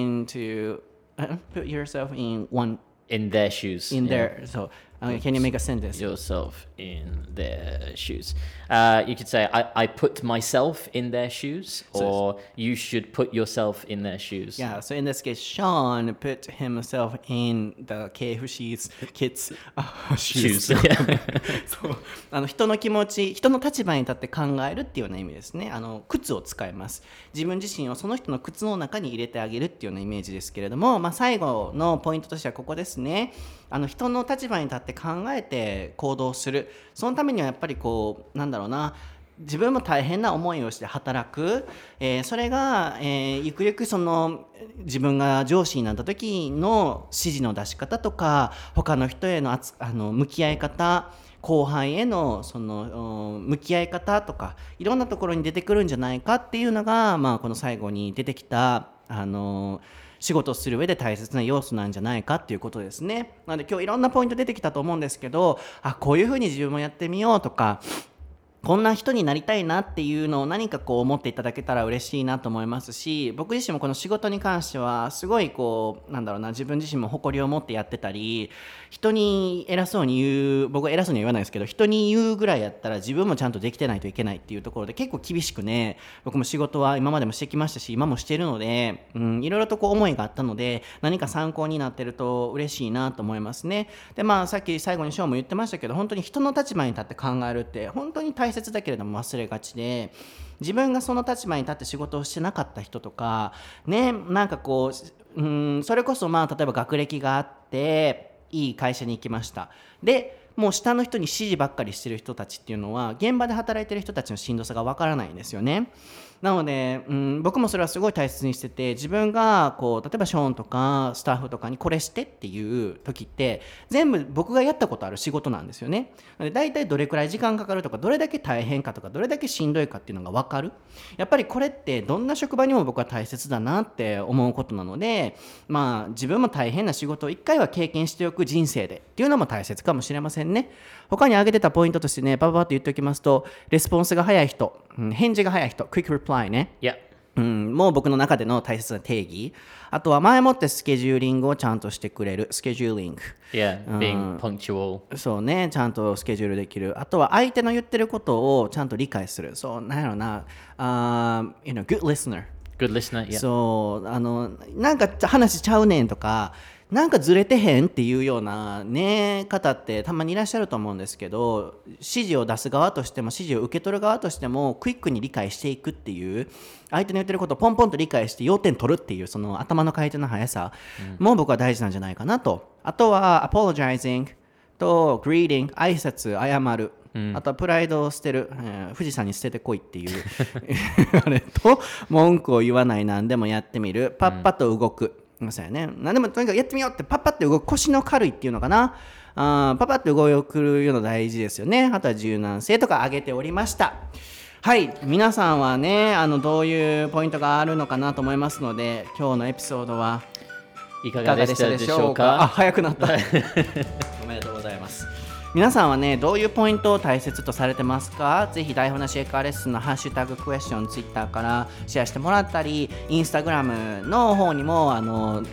Speaker 1: into put yourself in one
Speaker 2: in their shoes.
Speaker 1: in
Speaker 2: yeah.
Speaker 1: their so uh, can you make a sentence?
Speaker 2: Yourself in their shoes. Uh, you could say, I, I put myself in their shoes, or you should put yourself in their shoes.
Speaker 1: Yeah, so in this case, Sean put himself in the ケーエフシー's kids
Speaker 2: Shoes.
Speaker 1: shoes. そうあの人の気持ち、人の立場に立って考えるっていうような意味ですね。あの靴を使います。自分自身をその人の靴の中に入れてあげるっていうようなイメージですけれども、まあ、最後のポイントとしてはここですね。あの人の立場に立って考えて行動する。そのためにはやっぱりこうなんだろうな、自分も大変な思いをして働く、えー、それが、えー、ゆくゆくその自分が上司になった時の指示の出し方とか、他の人へのあつあの向き合い方、後輩へのその向き合い方とか、いろんなところに出てくるんじゃないかっていうのが、まあ、この最後に出てきたあの仕事をする上で大切な要素なんじゃないかっていうことですね。なので今日いろんなポイント出てきたと思うんですけど、あ、こういうふうに自分もやってみようとか、こんな人になりたいなっていうのを何かこう思っていただけたら嬉しいなと思いますし、僕自身もこの仕事に関してはすごいこうなんだろうな、自分自身も誇りを持ってやってたり、人に偉そうに言う、僕は偉そうには言わないですけど、人に言うぐらいやったら自分もちゃんとできてないといけないっていうところで結構厳しくね、僕も仕事は今までもしてきましたし、今もしているので、うん、いろいろとこう思いがあったので、何か参考になってると嬉しいなと思いますね。でまあさっき最後にショーも言ってましたけど、本当に人の立場に立って考えるって本当に大切だけれども忘れがちで、自分がその立場に立って仕事をしてなかった人とかね、なんかこう、うん、それこそまあ例えば学歴があっていい会社に行きました。でもう下の人に指示ばっかりしてる人たちっていうのは現場で働いてる人たちのしんどさがわからないんですよね。なので、うん、僕もそれはすごい大切にしてて、自分がこう例えばショーンとかスタッフとかにこれしてっていう時って全部僕がやったことある仕事なんですよね。なので大体どれくらい時間かかるとか、どれだけ大変かとか、どれだけしんどいかっていうのが分かる。やっぱりこれってどんな職場にも僕は大切だなって思うことなので、まあ自分も大変な仕事を一回は経験しておく人生でっていうのも大切かもしれませんね。他に挙げてたポイントとしてね、パパパッと言っておきますと、レスポンスが早い人、うん、返事が早い人、クイックリプライね。
Speaker 2: Yeah.
Speaker 1: うん、もう僕の中での大切な定義。あとは前もってスケジューリングをちゃんとしてくれる、スケジューリング。
Speaker 2: Yeah, being punctual.
Speaker 1: そうね、ちゃんとスケジュールできる。あとは相手の言ってることをちゃんと理解する。そう、なんやろな、uh, you know, good listener.
Speaker 2: Good listener, yeah.
Speaker 1: そうあのなんか話しちゃうねんとか、なんかずれてへんっていうようなね方ってたまにいらっしゃると思うんですけど、指示を出す側としても指示を受け取る側としてもクイックに理解していくっていう、相手の言ってることをポンポンと理解して要点取るっていうその頭の回転の速さも僕は大事なんじゃないかなと。あとは apologizing と greeting、 挨拶、謝る、うん、あとはプライドを捨てる、えー、富士山に捨ててこいっていうあれと、文句を言わない、何でもやってみる、パッパと動く、うん、そうやね、何でもとにかくやってみようってパッパって動く、腰の軽いっていうのかな、あパパって動くの大事ですよね。あとは柔軟性とか挙げておりました。はい、皆さんはね、あのどういうポイントがあるのかなと思いますので、今日のエピソードはいかがでしたでしょうか。あ、早くなったおめでとうございます。皆さんはね、どういうポイントを大切とされてますか？ぜひ台本なし英会話レッスンのハッシュタグクエスチョンツイッターからシェアしてもらったり、インスタグラムの方にもあの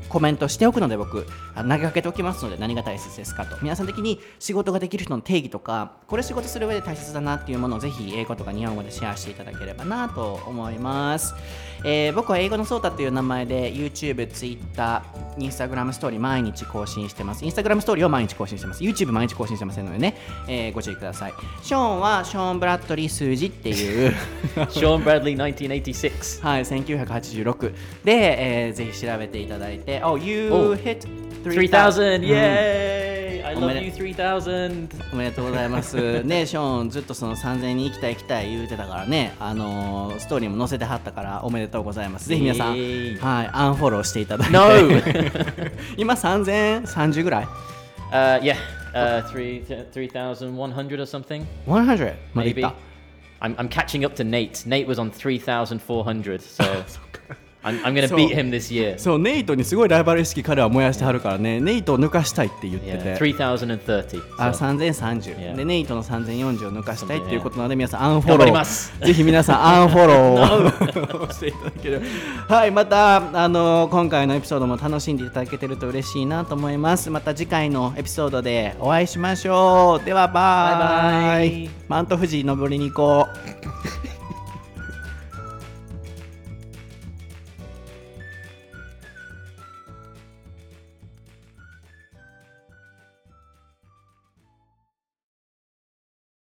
Speaker 1: コメントしておくので、僕あの投げかけておきますので、何が大切ですかと。皆さん的に仕事ができる人の定義とか、これ仕事する上で大切だなっていうものをぜひ英語とか日本語でシェアしていただければなと思います。えー、僕は英語のソータっていう名前で YouTube、Twitter、Instagram ストーリー毎日更新してます。Instagram ストーリーを毎日更新してます。YouTube 毎日更新してませんのでね、えー、ご注意ください。ショーンはショーン・ブラッドリー数字っていう
Speaker 2: ショーン・ブラッドリーせんきゅうひゃくはちじゅうろく
Speaker 1: はい、せんきゅうひゃくはちじゅうろくで、えー、ぜひ調べていただいて、Oh, you
Speaker 2: Oh,
Speaker 1: hit
Speaker 2: three thousand!
Speaker 1: うん
Speaker 2: Yay! I
Speaker 1: おめ
Speaker 2: love
Speaker 1: で
Speaker 2: you three thousand!
Speaker 1: おめでとうございますね。ショーンずっとそのさんぜんにん行きたい行きたい言うてたからね、あのー、ストーリーも載せてはったからおめでとうございます。ぜひ皆さん、はい、アンフォローしていただいて、
Speaker 2: No!
Speaker 1: 今さんぜんさんじゅうぐらい
Speaker 2: Uh, yeah, uh, three three thousand one hundred or something.
Speaker 1: ひゃくまでいっ
Speaker 2: Maybe.
Speaker 1: た。
Speaker 2: I'm I'm catching up to Nate. Nate was on three thousand four hundred, so I'm I'm gonna beat him this year.
Speaker 1: そう、ネイトにすごいライバル意識彼は燃やしてはるからね、ネイトを抜かしたいって言って
Speaker 2: Yeah,
Speaker 1: て、
Speaker 2: three thousand thirty.
Speaker 1: あ、
Speaker 2: So.
Speaker 1: さんぜんさんじゅう、
Speaker 2: Yeah.
Speaker 1: でネイトのさんぜんよんじゅうを抜かしたいっていうことなので、皆さんアンフォ
Speaker 2: 頑張
Speaker 1: ロー
Speaker 2: ります
Speaker 1: ぜひ皆さんアンフォローをしていただけるはい、またあの今回のエピソードも楽しんでいただけてると嬉しいなと思います。また次回のエピソードでお会いしましょう。ではバイバイ。
Speaker 2: バイバイ。
Speaker 1: マント富士登りに行こう